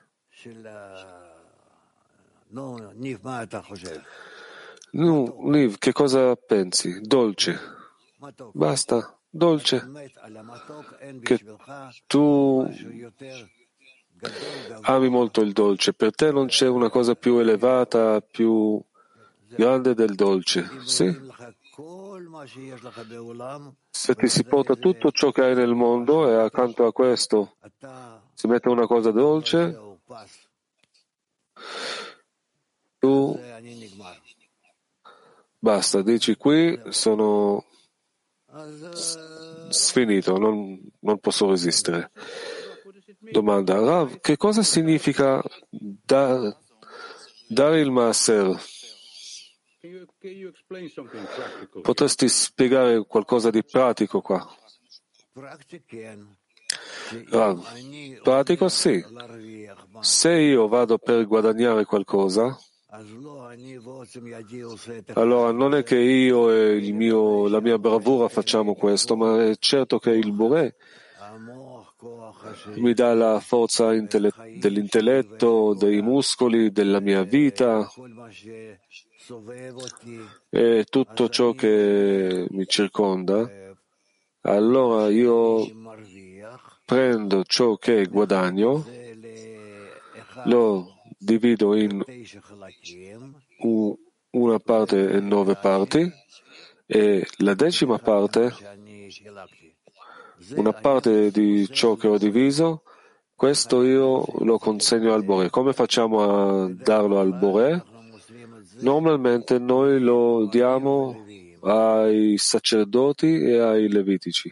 No, Niv, che cosa pensi? Dolce. Basta, dolce. Che tu ami molto il dolce. Per te non c'è una cosa più elevata, più grande del dolce. Sì? Se ti si porta tutto ciò che hai nel mondo e accanto a questo si mette una cosa dolce, tu basta, dici qui sono sfinito, non, non posso resistere. Domanda, Rav, che cosa significa da, dare il Maaser? Potresti spiegare qualcosa di pratico qua? Rav, pratico sì. Se io vado per guadagnare qualcosa, allora non è che io e il mio, la mia bravura facciamo questo, ma è certo che il Boré mi dà la forza intelle- dell'intelletto, dei muscoli, della mia vita e tutto ciò che mi circonda, allora io prendo ciò che guadagno, lo divido in una parte e nove parti, e la decima parte, una parte di ciò che ho diviso, questo io lo consegno al Boré. Come facciamo a darlo al Boré? Normalmente noi lo diamo ai sacerdoti e ai levitici.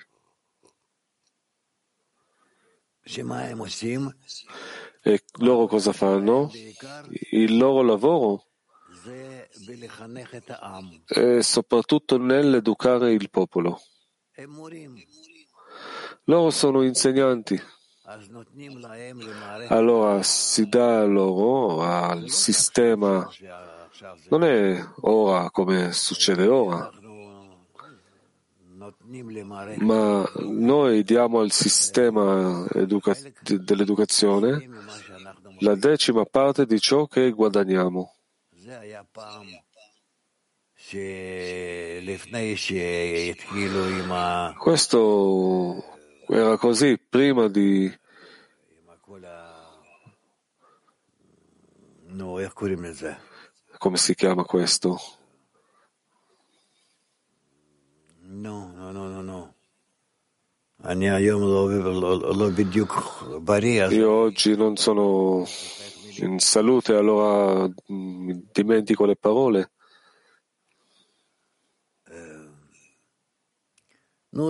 E loro cosa fanno? Il loro lavoro è soprattutto nell'educare il popolo. Loro sono insegnanti. Allora si dà loro al sistema, non è ora come succede ora, ma noi diamo al sistema educa- dell'educazione la decima parte di ciò che guadagniamo. Questo era così prima di come si chiama questo? No, no, no, no, no. Io oggi non sono in salute, allora mi dimentico le parole. Non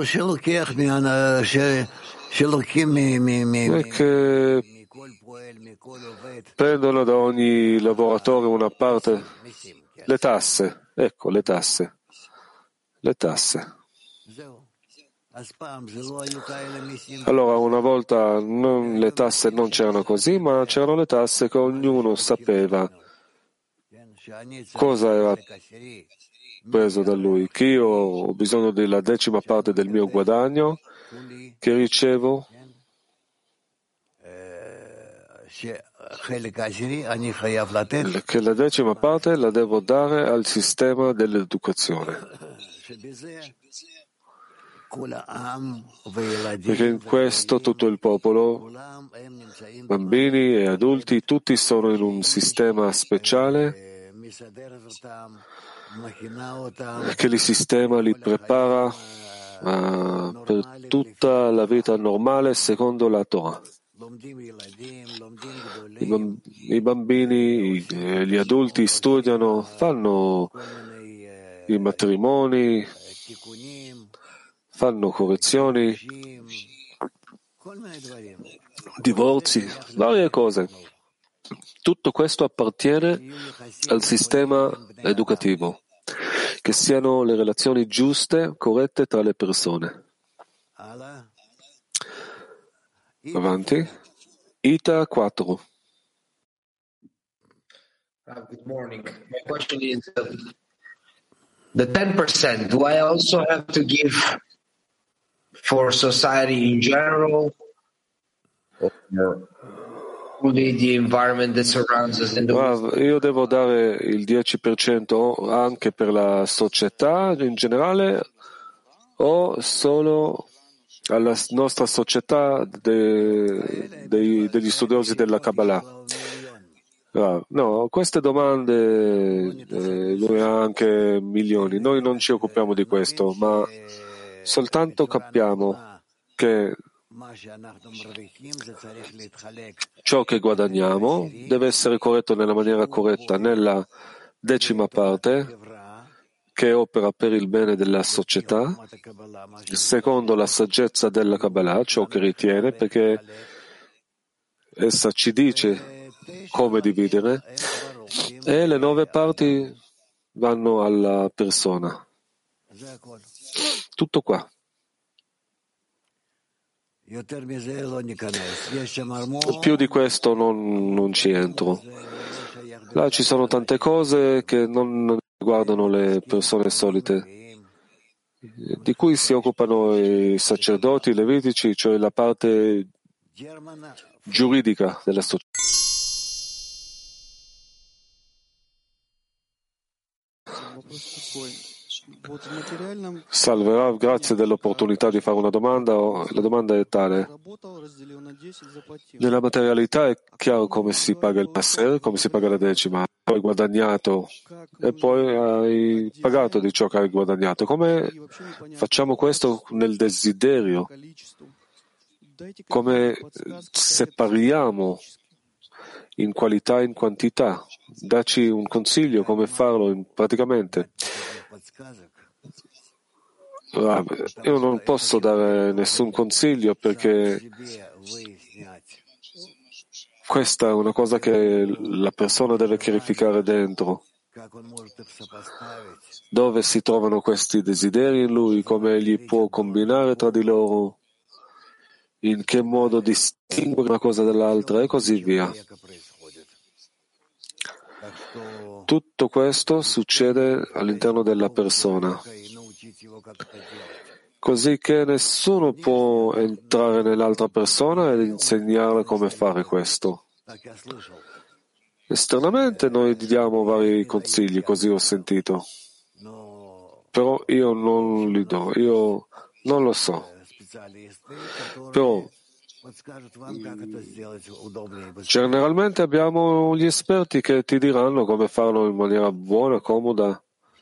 è che prendono da ogni lavoratore una parte, le tasse, ecco, le tasse, le tasse. Allora, una volta non, le tasse non c'erano così, ma c'erano le tasse che ognuno sapeva cosa era preso da lui, che io ho bisogno della decima parte del mio guadagno che ricevo, che la decima parte la devo dare al sistema dell'educazione. Perché in questo tutto il popolo, bambini e adulti, tutti sono in un sistema speciale che li sistema, li prepara uh, per tutta la vita normale secondo la Torah. I, bamb- i bambini, i, gli adulti studiano, fanno i matrimoni, fanno correzioni, divorzi, varie cose. Tutto questo appartiene al sistema educativo, che siano le relazioni giuste, corrette tra le persone. Avanti. Ita quattro. Uh, good morning. My question is, uh, the ten percent, do I also have to give for society in general, or only the environment that surrounds us in the world? Io devo dare il dieci per cento anche per la società in generale o solo alla nostra società de, de, degli studiosi della Kabbalah? No, queste domande eh, lui ha anche milioni. Noi non ci occupiamo di questo, ma soltanto capiamo che ciò che guadagniamo deve essere corretto nella maniera corretta, nella decima parte che opera per il bene della società, secondo la saggezza della Kabbalah, ciò che ritiene, perché essa ci dice come dividere, e le nove parti vanno alla persona. Tutto qua. Più di questo non, non ci entro. Là ci sono tante cose che non riguardano le persone solite, di cui si occupano i sacerdoti, i levitici, cioè la parte giuridica della società. Salve Rav, grazie dell'opportunità di fare una domanda. La domanda è tale. Nella materialità è chiaro come si paga il Maser, come si paga la decima. Hai guadagnato e poi hai pagato di ciò che hai guadagnato. Come facciamo questo nel desiderio? Come separiamo in qualità e in quantità? Dacci un consiglio come farlo in, praticamente. Io non posso dare nessun consiglio perché questa è una cosa che la persona deve chiarificare dentro. Dove si trovano questi desideri in lui, come egli può combinare tra di loro, in che modo distinguere una cosa dall'altra e così via. Tutto questo succede all'interno della persona, così che nessuno può entrare nell'altra persona ed insegnarle come fare questo. Esternamente noi diamo vari consigli, così ho sentito, però io non li do, io non lo so. Però generalmente abbiamo gli esperti che ti diranno come farlo in maniera buona, comoda.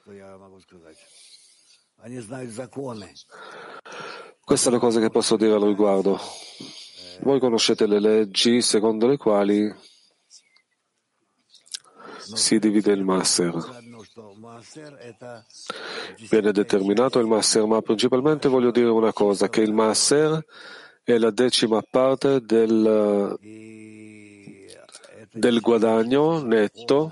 Questa è la cosa che posso dire al riguardo. Voi conoscete le leggi secondo le quali si divide il Maser. Viene determinato il Maser, ma principalmente voglio dire una cosa, che il Maser è la decima parte del, del guadagno netto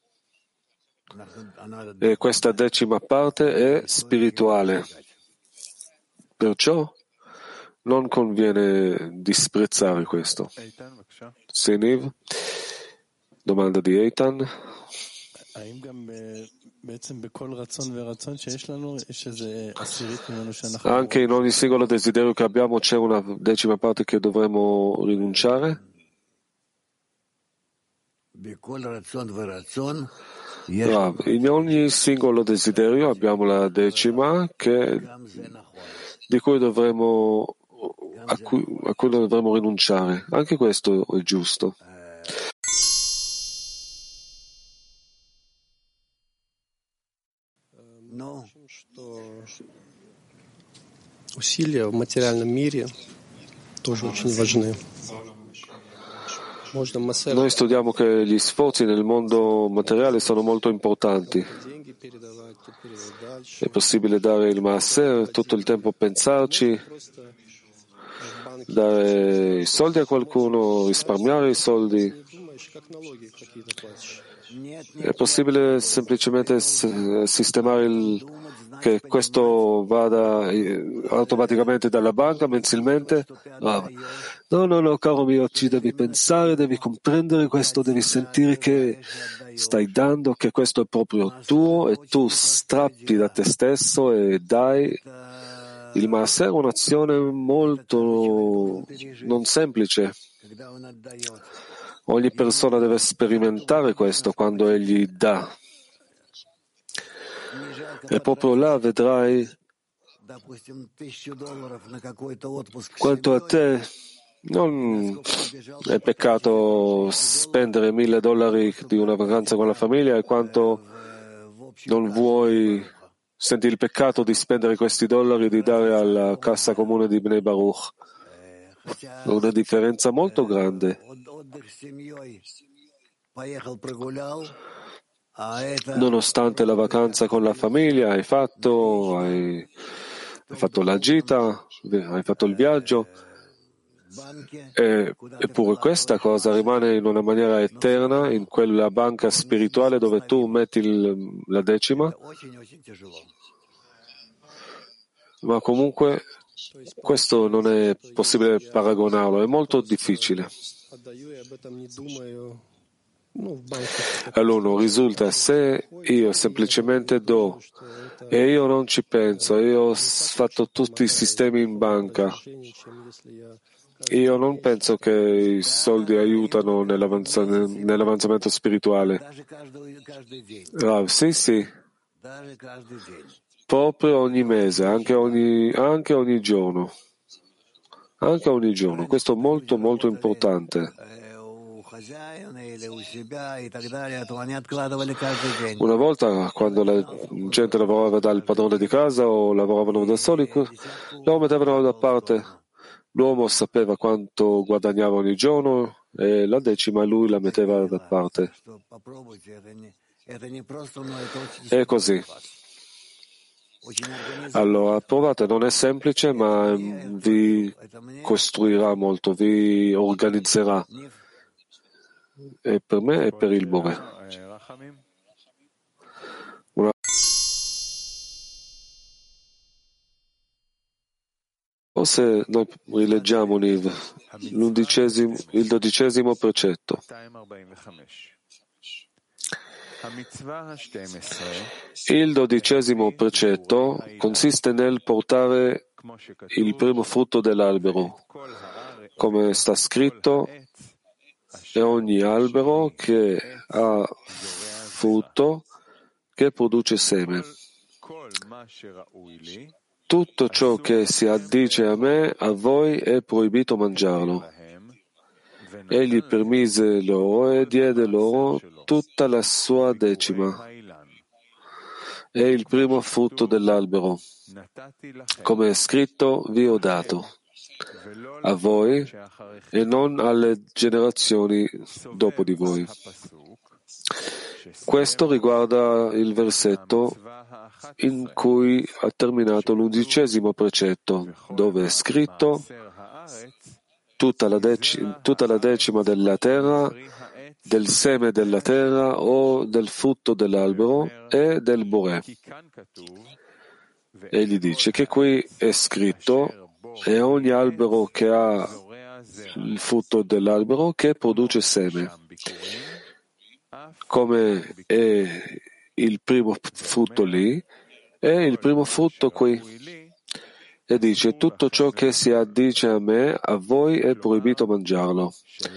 e questa decima parte è spirituale. Perciò non conviene disprezzare questo. Seniv, domanda di Eitan. Anche in ogni singolo desiderio che abbiamo c'è una decima parte che dovremmo rinunciare? Rav, in ogni singolo desiderio abbiamo la decima che, di cui dovremmo, a, cui, a cui dovremmo rinunciare. Anche questo è giusto. Усилия в материальном мире тоже очень важны. Noi studiamo che gli sforzi nel mondo materiale sono molto importanti. È possibile dare il Maaser, tutto il tempo pensarci, dare i soldi a qualcuno, risparmiare i soldi. È possibile semplicemente sistemare il, che questo vada automaticamente dalla banca mensilmente? No, no, no, no, caro mio, ci devi pensare, devi comprendere questo, devi sentire che stai dando, che questo è proprio tuo e tu strappi da te stesso e dai. Il Maaser è un'azione molto non semplice. Ogni persona deve sperimentare questo quando egli dà. E proprio là vedrai quanto a te non è peccato spendere mille dollari di una vacanza con la famiglia e quanto non vuoi, senti il peccato di spendere questi dollari e di dare alla cassa comune di Bnei Baruch. È una differenza molto grande. Nonostante la vacanza con la famiglia hai fatto, hai, hai fatto la gita, hai fatto il viaggio, e, eppure questa cosa rimane in una maniera eterna in quella banca spirituale dove tu metti il, la decima, ma comunque questo non è possibile paragonarlo, è molto difficile. Allora risulta se io semplicemente do e io non ci penso, io ho fatto tutti i sistemi in banca, Io non penso che i soldi aiutano nell'avanza- nell'avanzamento spirituale. Rav, sì, sì. Proprio ogni mese, anche ogni, anche ogni giorno. Anche ogni giorno. Questo è molto, molto importante. Una volta, quando la gente lavorava dal padrone di casa o lavoravano da soli, lo mettevano da parte. L'uomo sapeva quanto guadagnava ogni giorno e la decima lui la metteva da parte. È così. Allora, provate, non è semplice, ma vi costruirà molto, vi organizzerà. E per me e per il Bore. Una... Forse noi rileggiamo Niv, l'undicesimo, il dodicesimo precetto. Il dodicesimo precetto consiste nel portare il primo frutto dell'albero, come sta scritto, e ogni albero che ha frutto che produce seme. Tutto ciò che si addice a me, a voi è proibito mangiarlo. Egli permise loro e diede loro tutta la sua decima. È il primo frutto dell'albero. Come è scritto, vi ho dato. A voi e non alle generazioni dopo di voi. Questo riguarda il versetto in cui ha terminato l'undicesimo precetto, dove è scritto tutta la, dec- tutta la decima della terra, del seme della terra o del frutto dell'albero e del Bore. Egli dice che qui è scritto e ogni albero che ha il frutto dell'albero che produce seme. Come è il primo frutto lì, è il primo frutto qui. E dice, tutto ciò che si addice a me, a voi è proibito mangiarlo.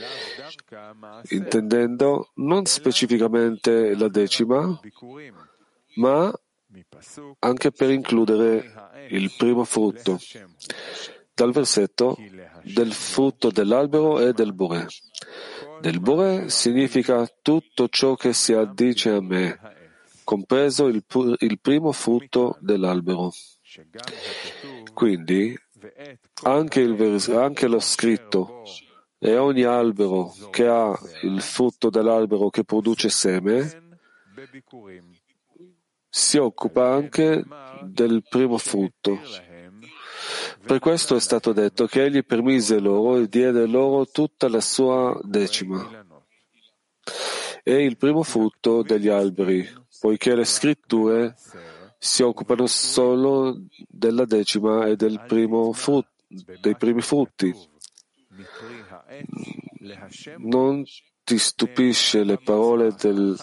Intendendo non specificamente la decima, ma anche per includere il primo frutto. Dal versetto del frutto dell'albero e del Bore. Del Bore significa tutto ciò che si addice a me, compreso il, pu- il primo frutto dell'albero. Quindi anche, il vers- anche lo scritto e ogni albero che ha il frutto dell'albero che produce seme si occupa anche del primo frutto. Per questo è stato detto che egli permise loro e diede loro tutta la sua decima. È il primo frutto degli alberi, poiché le scritture si occupano solo della decima e del primo frutto, dei primi frutti. Non ti stupisce le parole del,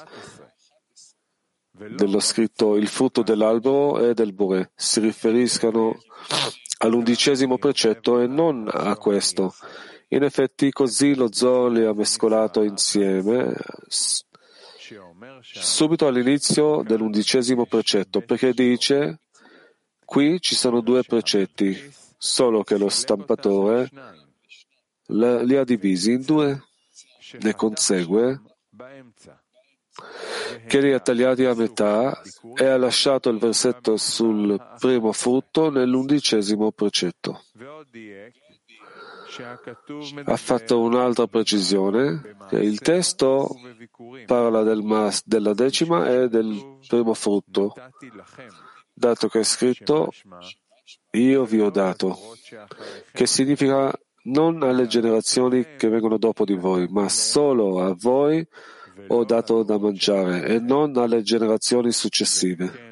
dello scritto il frutto dell'albero e del Bore si riferiscano all'undicesimo precetto e non a questo. In effetti così lo Zohar li ha mescolato insieme subito all'inizio dell'undicesimo precetto, perché dice qui ci sono due precetti, solo che lo stampatore li ha divisi in due. Ne consegue che li ha tagliati a metà e ha lasciato il versetto sul primo frutto nell'undicesimo precetto. Ha fatto un'altra precisione, che il testo parla del mas, della decima e del primo frutto, dato che è scritto io vi ho dato, che significa non alle generazioni che vengono dopo di voi, ma solo a voi ho dato da mangiare e non alle generazioni successive.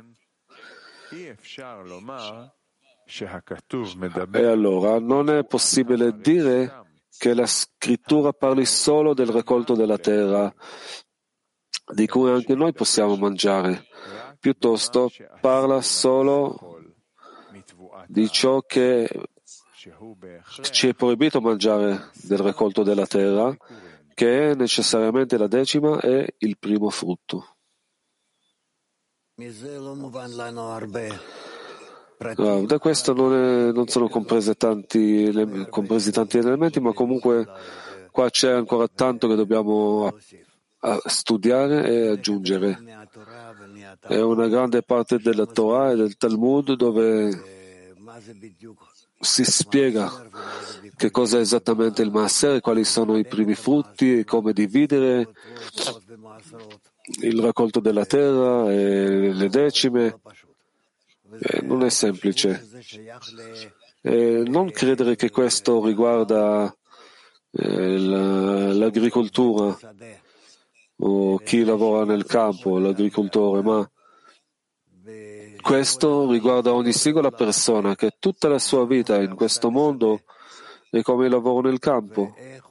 E allora non è possibile dire che la scrittura parli solo del raccolto della terra, di cui anche noi possiamo mangiare, piuttosto parla solo di ciò che ci è proibito mangiare del raccolto della terra, che è necessariamente la decima e il primo frutto. Ah, da questo non, è, non sono comprese tanti, compresi tanti elementi, ma comunque qua c'è ancora tanto che dobbiamo a studiare e aggiungere. È una grande parte della Torah e del Talmud dove si spiega che cosa è esattamente il Maaser, quali sono i primi frutti, come dividere il raccolto della terra e le decime. Eh, non è semplice. Eh, non credere che questo riguarda eh, la, l'agricoltura o chi lavora nel campo, l'agricoltore, ma questo riguarda ogni singola persona che tutta la sua vita in questo mondo è come il lavoro nel campo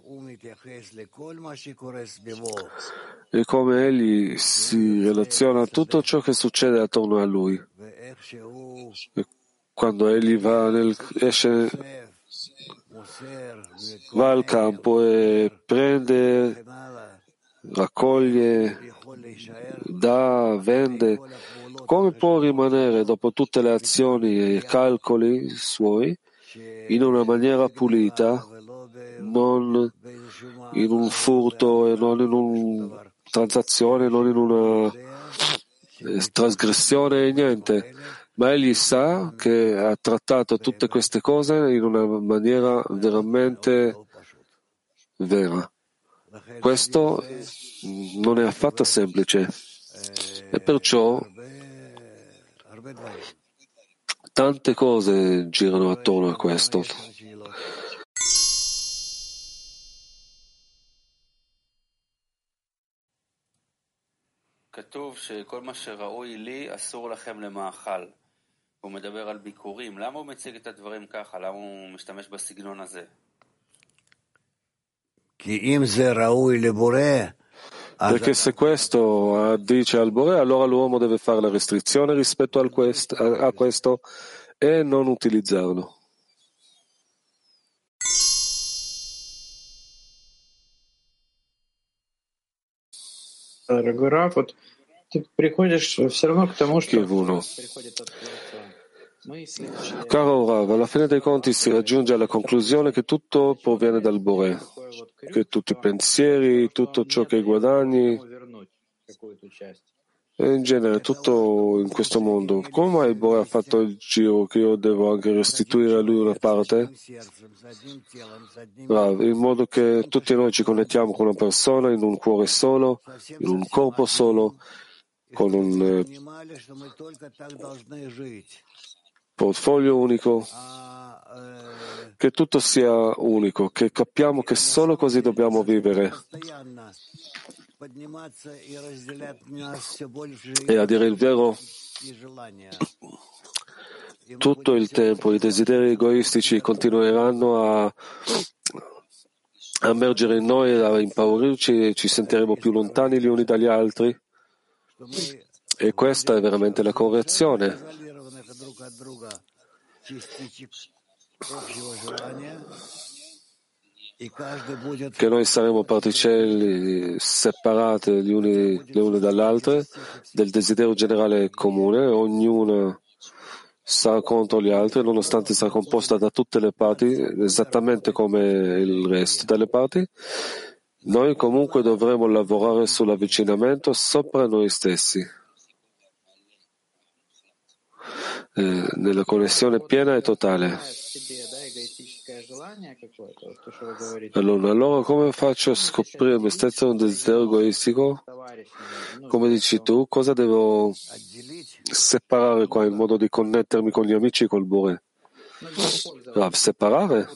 e come egli si relaziona a tutto ciò che succede attorno a lui. E quando egli va nel, esce, va al campo e prende, raccoglie, dà, vende, come può rimanere dopo tutte le azioni e i calcoli suoi in una maniera pulita, non in un furto e non in una transazione, non in una trasgressione e niente, ma egli sa che ha trattato tutte queste cose in una maniera veramente vera. Questo non è affatto semplice e perciò tante cose girano attorno a questo. כתוב שכל מה שראוי לי אסור לכם למאכל. הוא מדבר על ביקורים. למה הוא מציג את הדברים ככה? למה הוא משתמש בסגנון הזה? Perché se questo dice al Boré, allora l'uomo deve fare la restrizione rispetto al quest, a, a questo e non utilizzarlo. Дорогой Раф, вот ты приходишь все равно к тому, что приходит от Творца. Caro Rav, alla fine dei conti si raggiunge alla conclusione che tutto proviene dal Boré, che tutti i pensieri, tutto ciò che guadagni, e in genere tutto in questo mondo. Come mai il Boré ha fatto il giro che io devo anche restituire a lui una parte? Rav, in modo che tutti noi ci connettiamo con una persona in un cuore solo, in un corpo solo, con un eh, portfolio unico, che tutto sia unico, che capiamo che solo così dobbiamo vivere. E a dire il vero, tutto il tempo i desideri egoistici continueranno a a emergere in noi, a impaurirci e ci sentiremo più lontani gli uni dagli altri. E questa è veramente la correzione. Che noi saremo particelle separate gli uni, le une dalle altre del desiderio generale comune, ognuna sarà contro gli altri, nonostante sarà composta da tutte le parti, esattamente come il resto delle parti. Noi comunque dovremo lavorare sull'avvicinamento sopra noi stessi, eh, nella connessione piena e totale. Allora, allora come faccio a scoprire me stesso un desiderio egoistico? Come dici tu, cosa devo separare qua in modo di connettermi con gli amici e col Boré? Rav, separare?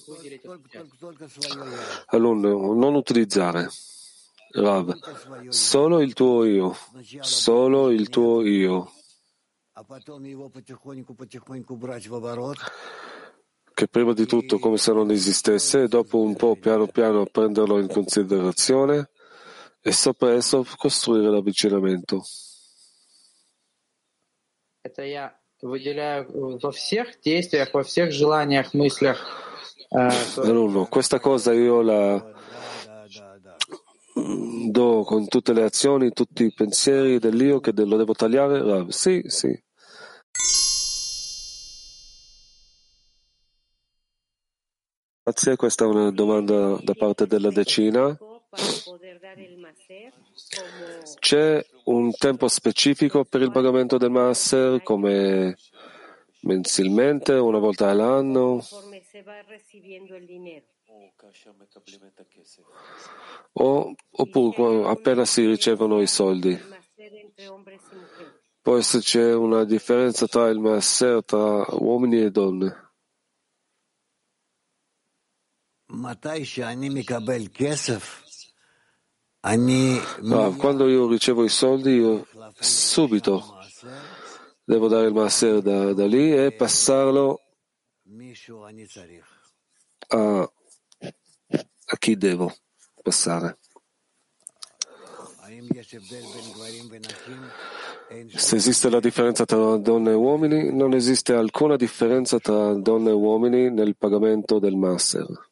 Allora, non utilizzare. Rav, solo il tuo io, solo il tuo io. Che prima di tutto come se non esistesse e dopo un po' piano piano prenderlo in considerazione e sopra esso costruire l'avvicinamento. Это я выделяю во всех действиях, во всех желаниях, мыслях Alunno, questa cosa io la do con tutte le azioni, tutti i pensieri dell'io che lo devo tagliare? Rav, sì, sì. Grazie, questa è una domanda da parte della decina. C'è un tempo specifico per il pagamento del Maaser, come mensilmente, una volta all'anno? O, oppure appena si ricevono i soldi? Può esserci una differenza tra il Maaser tra uomini e donne? Ah, quando io ricevo i soldi, io subito devo dare il Maaser da, da lì e passarlo a, a chi devo passare. Se esiste la differenza tra donne e uomini, non esiste alcuna differenza tra donne e uomini nel pagamento del Maaser.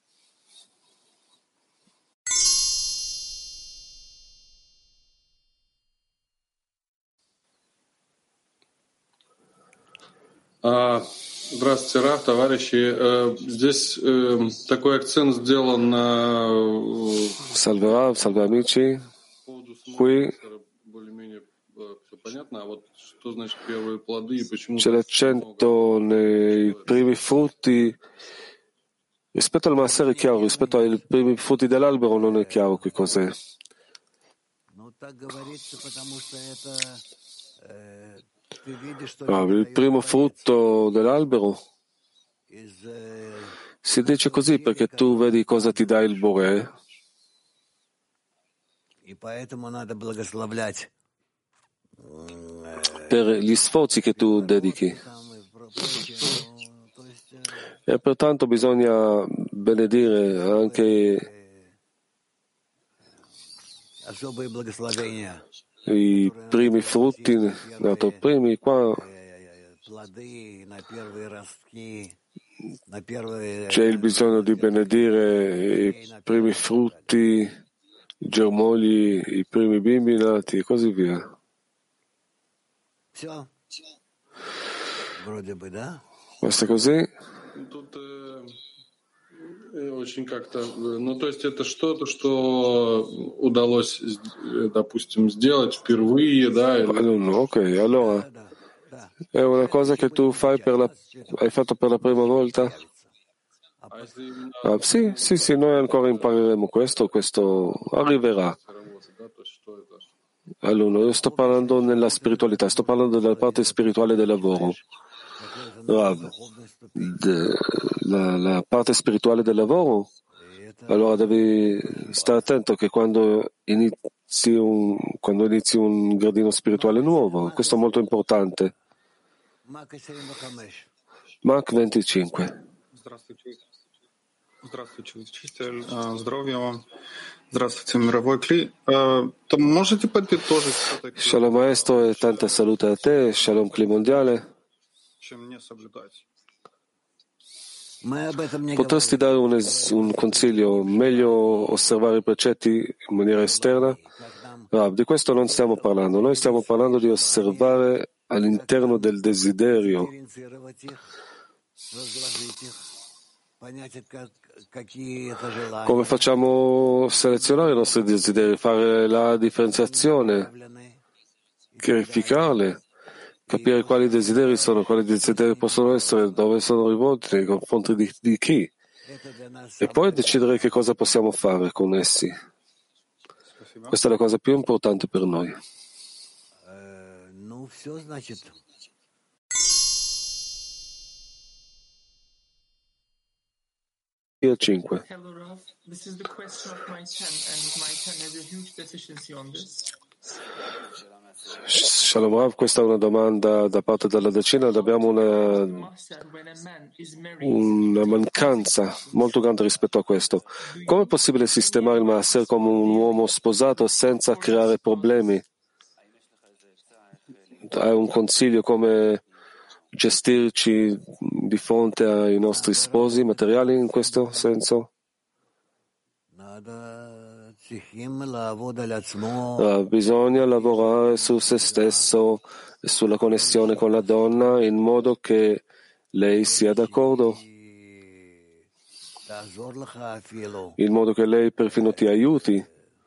Здравствуйте, Раф, товарищи. Здесь такой акцент сделан на... Salve Rav, salve amici. Qui c'è l'accento nei primi frutti. Rispetto al Maaser è chiaro, rispetto ai primi frutti dell'albero non è chiaro che cos'è. Ah, il primo frutto dell'albero si dice così perché tu vedi cosa ti dà il Boré per gli sforzi che tu dedichi e pertanto bisogna benedire anche i primi frutti, dato primi qua c'è il bisogno di benedire i primi frutti, i germogli, i primi bimbi nati e così via. Basta così? Очень как-то, ну, то есть это что-то, что удалось, допустим, сделать впервые, да? Или... Ok, allora è una cosa che tu fai per la, hai fatto per la prima volta? Ah, sì, sì, sì, noi ancora impareremo questo, questo arriverà. Allora, io sto parlando nella spiritualità, sto parlando della parte spirituale del lavoro. Rav, de, la, la parte spirituale del lavoro, allora devi stare attento che quando inizi un, quando inizi un gradino spirituale nuovo, questo è molto importante. Mach venticinque. Здравствуйте, учитель. Здоровья вам. Здравствуйте, мировой Кли. То можете подытожить все-таки? Shalom maestro e tanta salute a te, Shalom Kli mondiale. Чем не соблюдать? Potresti dare un, es- un consiglio? Meglio osservare i precetti in maniera esterna? Rav, di questo non stiamo parlando. Noi stiamo parlando di osservare all'interno del desiderio. Come facciamo selezionare i nostri desideri? Fare la differenziazione, verificarle, capire quali desideri sono, quali desideri possono essere, dove sono rivolti, nei confronti di, di chi, e poi decidere che cosa possiamo fare con essi. Questa è la cosa più importante per noi. cinque. Hello, Rav. This is the question of my ten, and my ten has a huge deficiency on this. Shalom Rav, questa è una domanda da parte della decina. Abbiamo una, una mancanza molto grande rispetto a questo. Come è possibile sistemare il Maaser come un uomo sposato senza creare problemi? Hai un consiglio come gestirci di fronte ai nostri sposi materiali in questo senso? Uh, bisogna lavorare su se stesso e sulla connessione con la donna in modo che lei sia d'accordo, in modo che lei perfino ti aiuti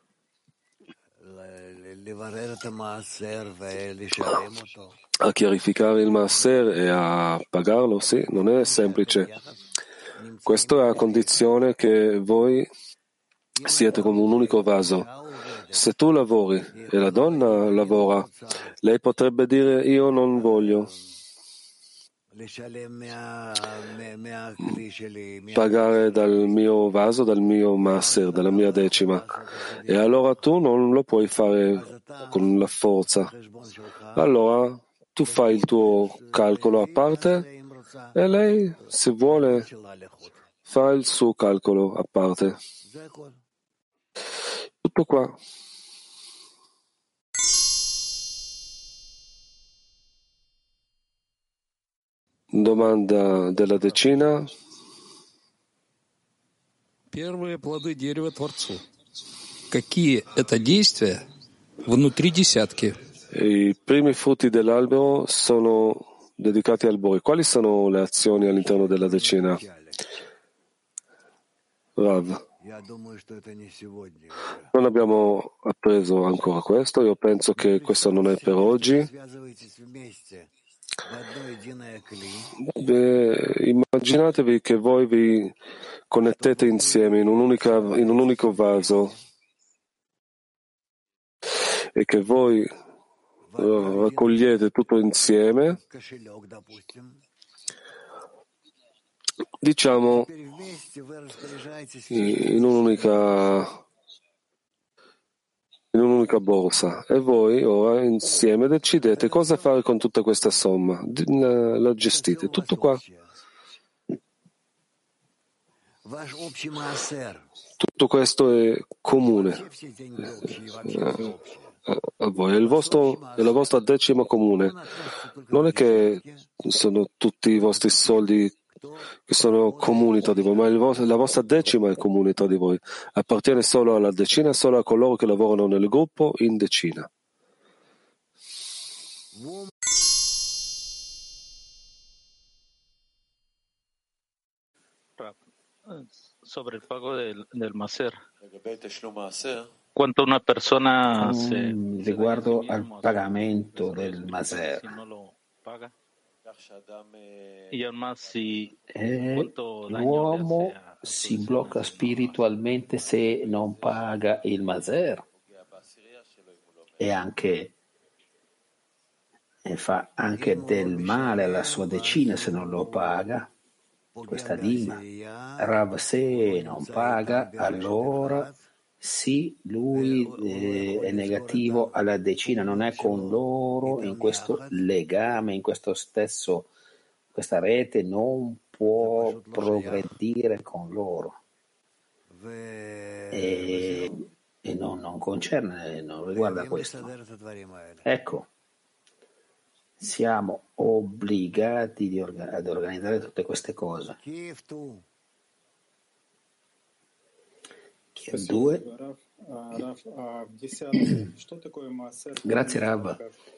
a chiarificare il Maaser e a pagarlo. Sì, non è semplice. Questo è a condizione che voi siete come un unico vaso. Se tu lavori e la donna lavora, lei potrebbe dire io non voglio pagare dal mio vaso, dal mio Maaser, dalla mia decima, e allora tu non lo puoi fare con la forza. Allora tu fai il tuo calcolo a parte e lei, se vuole, fa il suo calcolo a parte. Tutto qua. Domanda della decina. Первые плоды дерева Творцу. Какие это действия внутри десятки? I primi frutti dell'albero sono dedicati al Bori. Quali sono le azioni all'interno della decina? Rav. Non abbiamo appreso ancora questo. Io penso che questo non è per oggi. Beh, immaginatevi che voi vi connettete insieme in, un'unica, in un unico vaso e che voi uh, raccogliete tutto insieme, diciamo in un'unica in un'unica borsa, e voi ora insieme decidete cosa fare con tutta questa somma, la, la gestite, tutto qua. Tutto questo è comune a voi, è, il vostro, è la vostra decima comune. Non è che sono tutti i vostri soldi che sono comuni tra di voi, ma il vostro, la vostra decima è comune tra di voi, appartiene solo alla decina, solo a coloro che lavorano nel gruppo in decina. Sobre el pago del, del Maaser. Quanto una persona um, se, riguardo al pagamento del Maaser. Eh, l'uomo si blocca spiritualmente se non paga il Maaser e anche e fa anche del male alla sua decina se non lo paga. Questa dima. Rav, se non paga, allora sì, lui eh, è negativo alla decina, non è con loro in questo legame, in questo stesso, questa rete non può progredire con loro. E, e non, non concerne, non riguarda questo. Ecco. Siamo obbligati di orga- ad organizzare tutte queste cose. Kiev due. Grazie Rav.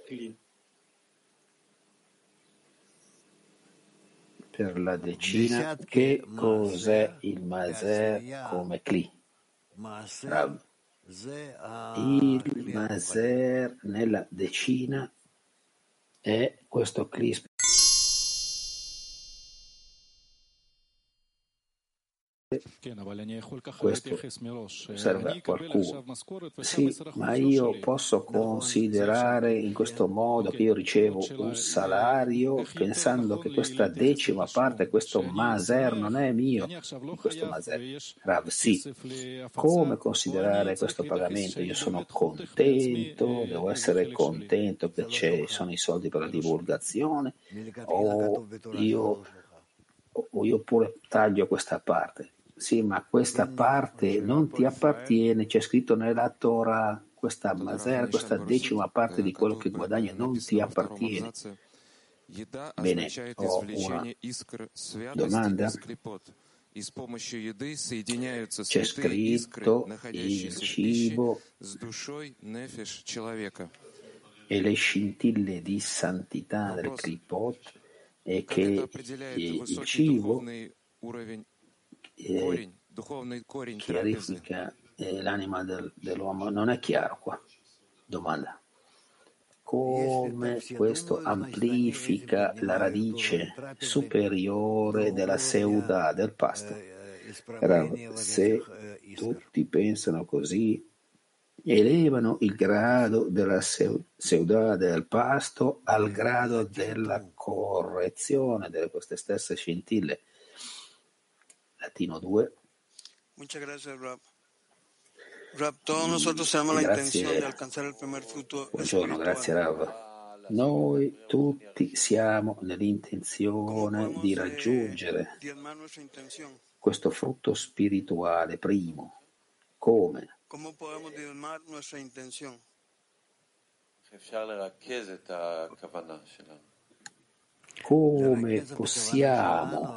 Per la decina, che cos'è il Maaser come Kli? Rav. Il Maaser nella decina è questo Kli. Questo serve a qualcuno. Sì, ma io posso considerare in questo modo che io ricevo un salario pensando che questa decima parte, questo Maaser non è mio, questo Maaser. Rav, sì. Come considerare questo pagamento? Io sono contento, devo essere contento che ci sono i soldi per la divulgazione, o io, o io pure taglio questa parte. Sì, ma questa parte non ti appartiene, c'è scritto nella Torah, questa Maaser, questa decima parte di quello che guadagni non ti appartiene. Bene, ho una domanda. C'è scritto il cibo e le scintille di santità del Kripot e che il cibo eh, chiarifica eh, l'anima del, dell'uomo. Non è chiaro qua. Domanda. Come questo amplifica la radice superiore della Seudà del pasto? Se tutti pensano così, elevano il grado della Seudà del pasto al grado della correzione delle queste stesse scintille. Latino due. Muchas gracias, Rab. Rab, todos nosotros tenemos la intención de alcanzar el primer fruto. Buongiorno, grazie Rav. Noi tutti siamo nell'intenzione di raggiungere questo frutto spirituale primo. Come? Come possiamo diezmar nuestra intención? Come possiamo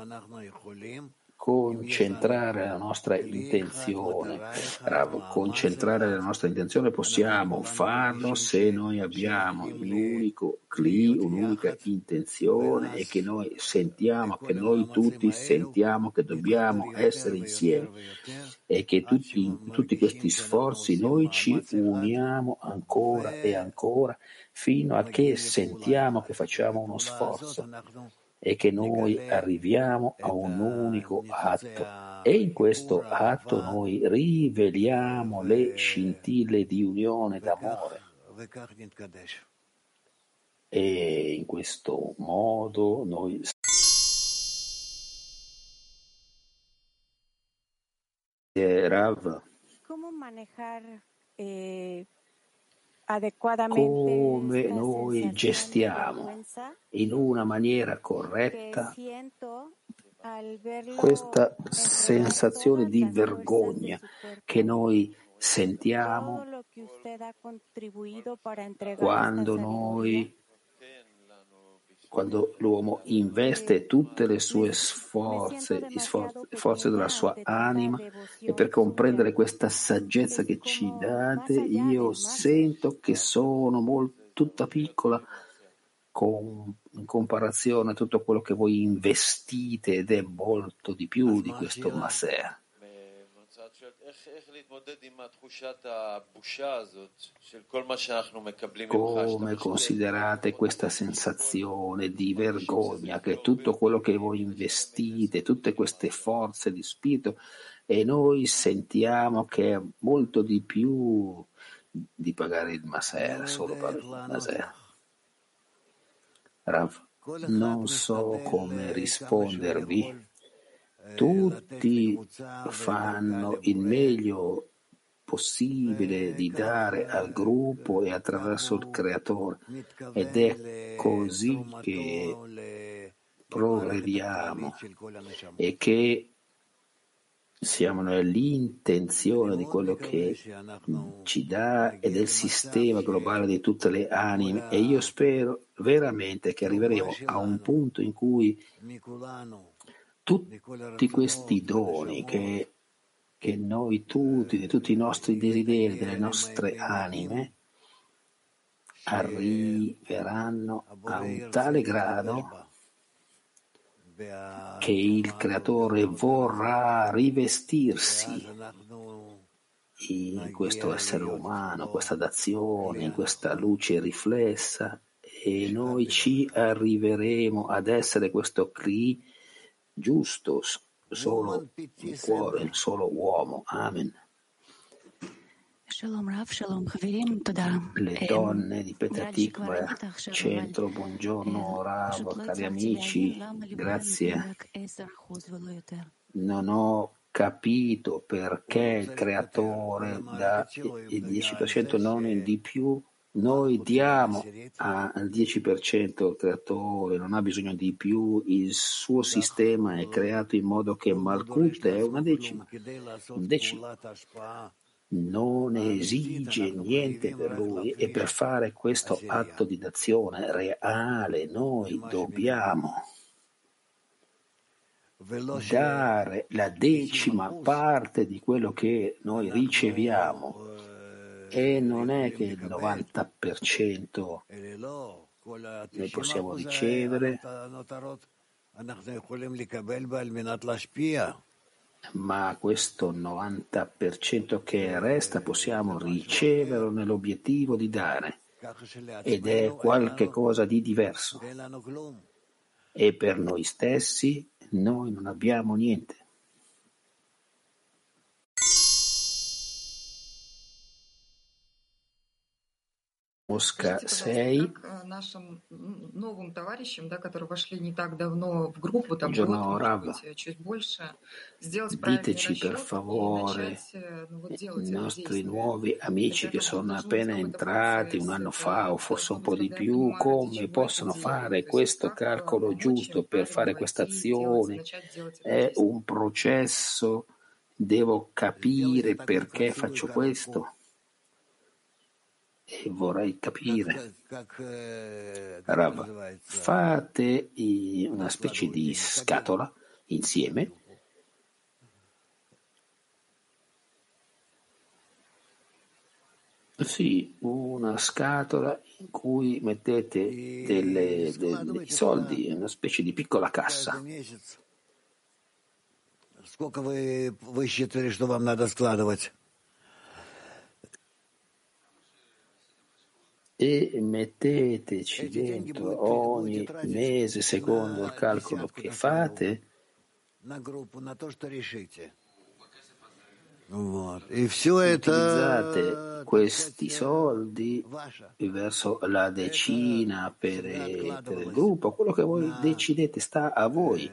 concentrare la nostra intenzione? Rav, concentrare la nostra intenzione possiamo farlo se noi abbiamo un unico cli, un'unica intenzione e che noi sentiamo, che noi tutti sentiamo che dobbiamo essere insieme e che tutti, in tutti questi sforzi noi ci uniamo ancora e ancora fino a che sentiamo che facciamo uno sforzo e che noi arriviamo a un unico atto e in questo atto noi riveliamo le scintille di unione d'amore e in questo modo noi eh, Rav come manejare eh... come noi gestiamo in una maniera corretta questa sensazione di vergogna che noi sentiamo quando noi quando l'uomo investe tutte le sue sforze, i sforzi, forze della sua anima e per comprendere questa saggezza che ci date, io sento che sono molto, tutta piccola con, in comparazione a tutto quello che voi investite ed è molto di più di questo Maser. Come considerate questa sensazione di vergogna che tutto quello che voi investite, tutte queste forze di spirito e noi sentiamo che è molto di più di pagare il Maser, solo per il Maser? Rav, non so come rispondervi. Tutti fanno il meglio possibile di dare al gruppo e attraverso il Creatore ed è così che progrediamo e che siamo nell'intenzione di quello che ci dà e del sistema globale di tutte le anime e io spero veramente che arriveremo a un punto in cui tutti questi doni che, che noi tutti, di tutti i nostri desideri, delle nostre anime, arriveranno a un tale grado che il Creatore vorrà rivestirsi in questo essere umano, questa d'azione, in questa luce riflessa e noi ci arriveremo ad essere questo Kli giusto, solo il cuore, il solo uomo. Amen. Le donne di Petah Tikva, centro, buongiorno Rav, cari amici, grazie. Non ho capito perché il Creatore dà il dieci per cento, non il di più. Noi diamo al dieci per cento il Creatore, non ha bisogno di più, il suo sistema è creato in modo che Malkut è una decima, un decimo. non esige niente per lui e per fare questo atto di dazione reale noi dobbiamo dare la decima parte di quello che noi riceviamo e non è che il novanta per cento noi possiamo ricevere, ma questo novanta per cento che resta possiamo riceverlo nell'obiettivo di dare ed è qualche cosa di diverso e per noi stessi noi non abbiamo niente. Mosca sei. Buongiorno Rav, diteci per favore i nostri nuovi amici che sono appena entrati un anno fa o forse un po' di più, come possono fare questo calcolo giusto per fare questa azione? È un processo, devo capire perché faccio questo. E vorrei capire, Rav, fate una specie di scatola insieme sì, una scatola in cui mettete delle, delle, dei soldi, una specie di piccola cassa. E metteteci dentro ogni mese, secondo il calcolo che fate, utilizzate questi soldi verso la decina per, per il gruppo, quello che voi decidete sta a voi.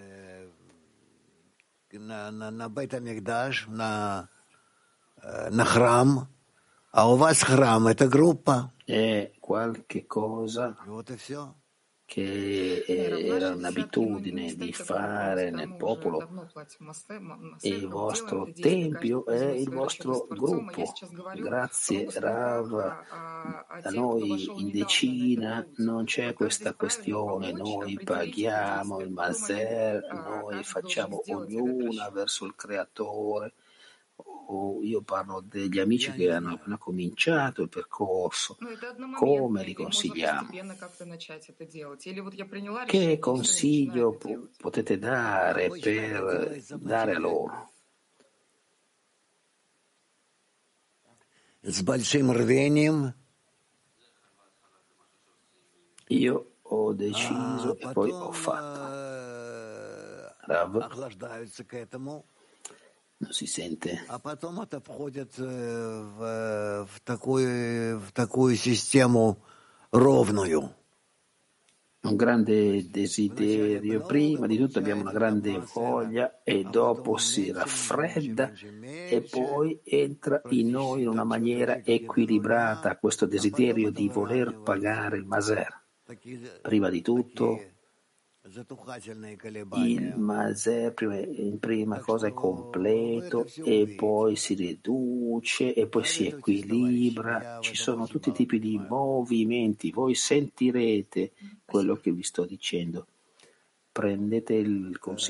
È qualche cosa che era un'abitudine di fare nel popolo e il vostro tempio è il vostro gruppo. Grazie Rav, da noi in decina non c'è questa questione, noi paghiamo il maser, noi facciamo ognuna verso il creatore. O io parlo degli amici che hanno appena cominciato il percorso, come li consigliamo? Che consiglio potete dare per dare a loro? Io ho deciso e poi ho fatto. Rav? Non si sente. Un grande desiderio. Prima di tutto abbiamo una grande voglia e dopo si raffredda e poi entra in noi in una maniera equilibrata questo desiderio di voler pagare il maser. Prima di tutto il maser prima, in prima cosa è completo e poi si riduce e poi si equilibra, ci sono tutti i tipi di movimenti, voi sentirete quello che vi sto dicendo, prendete il consiglio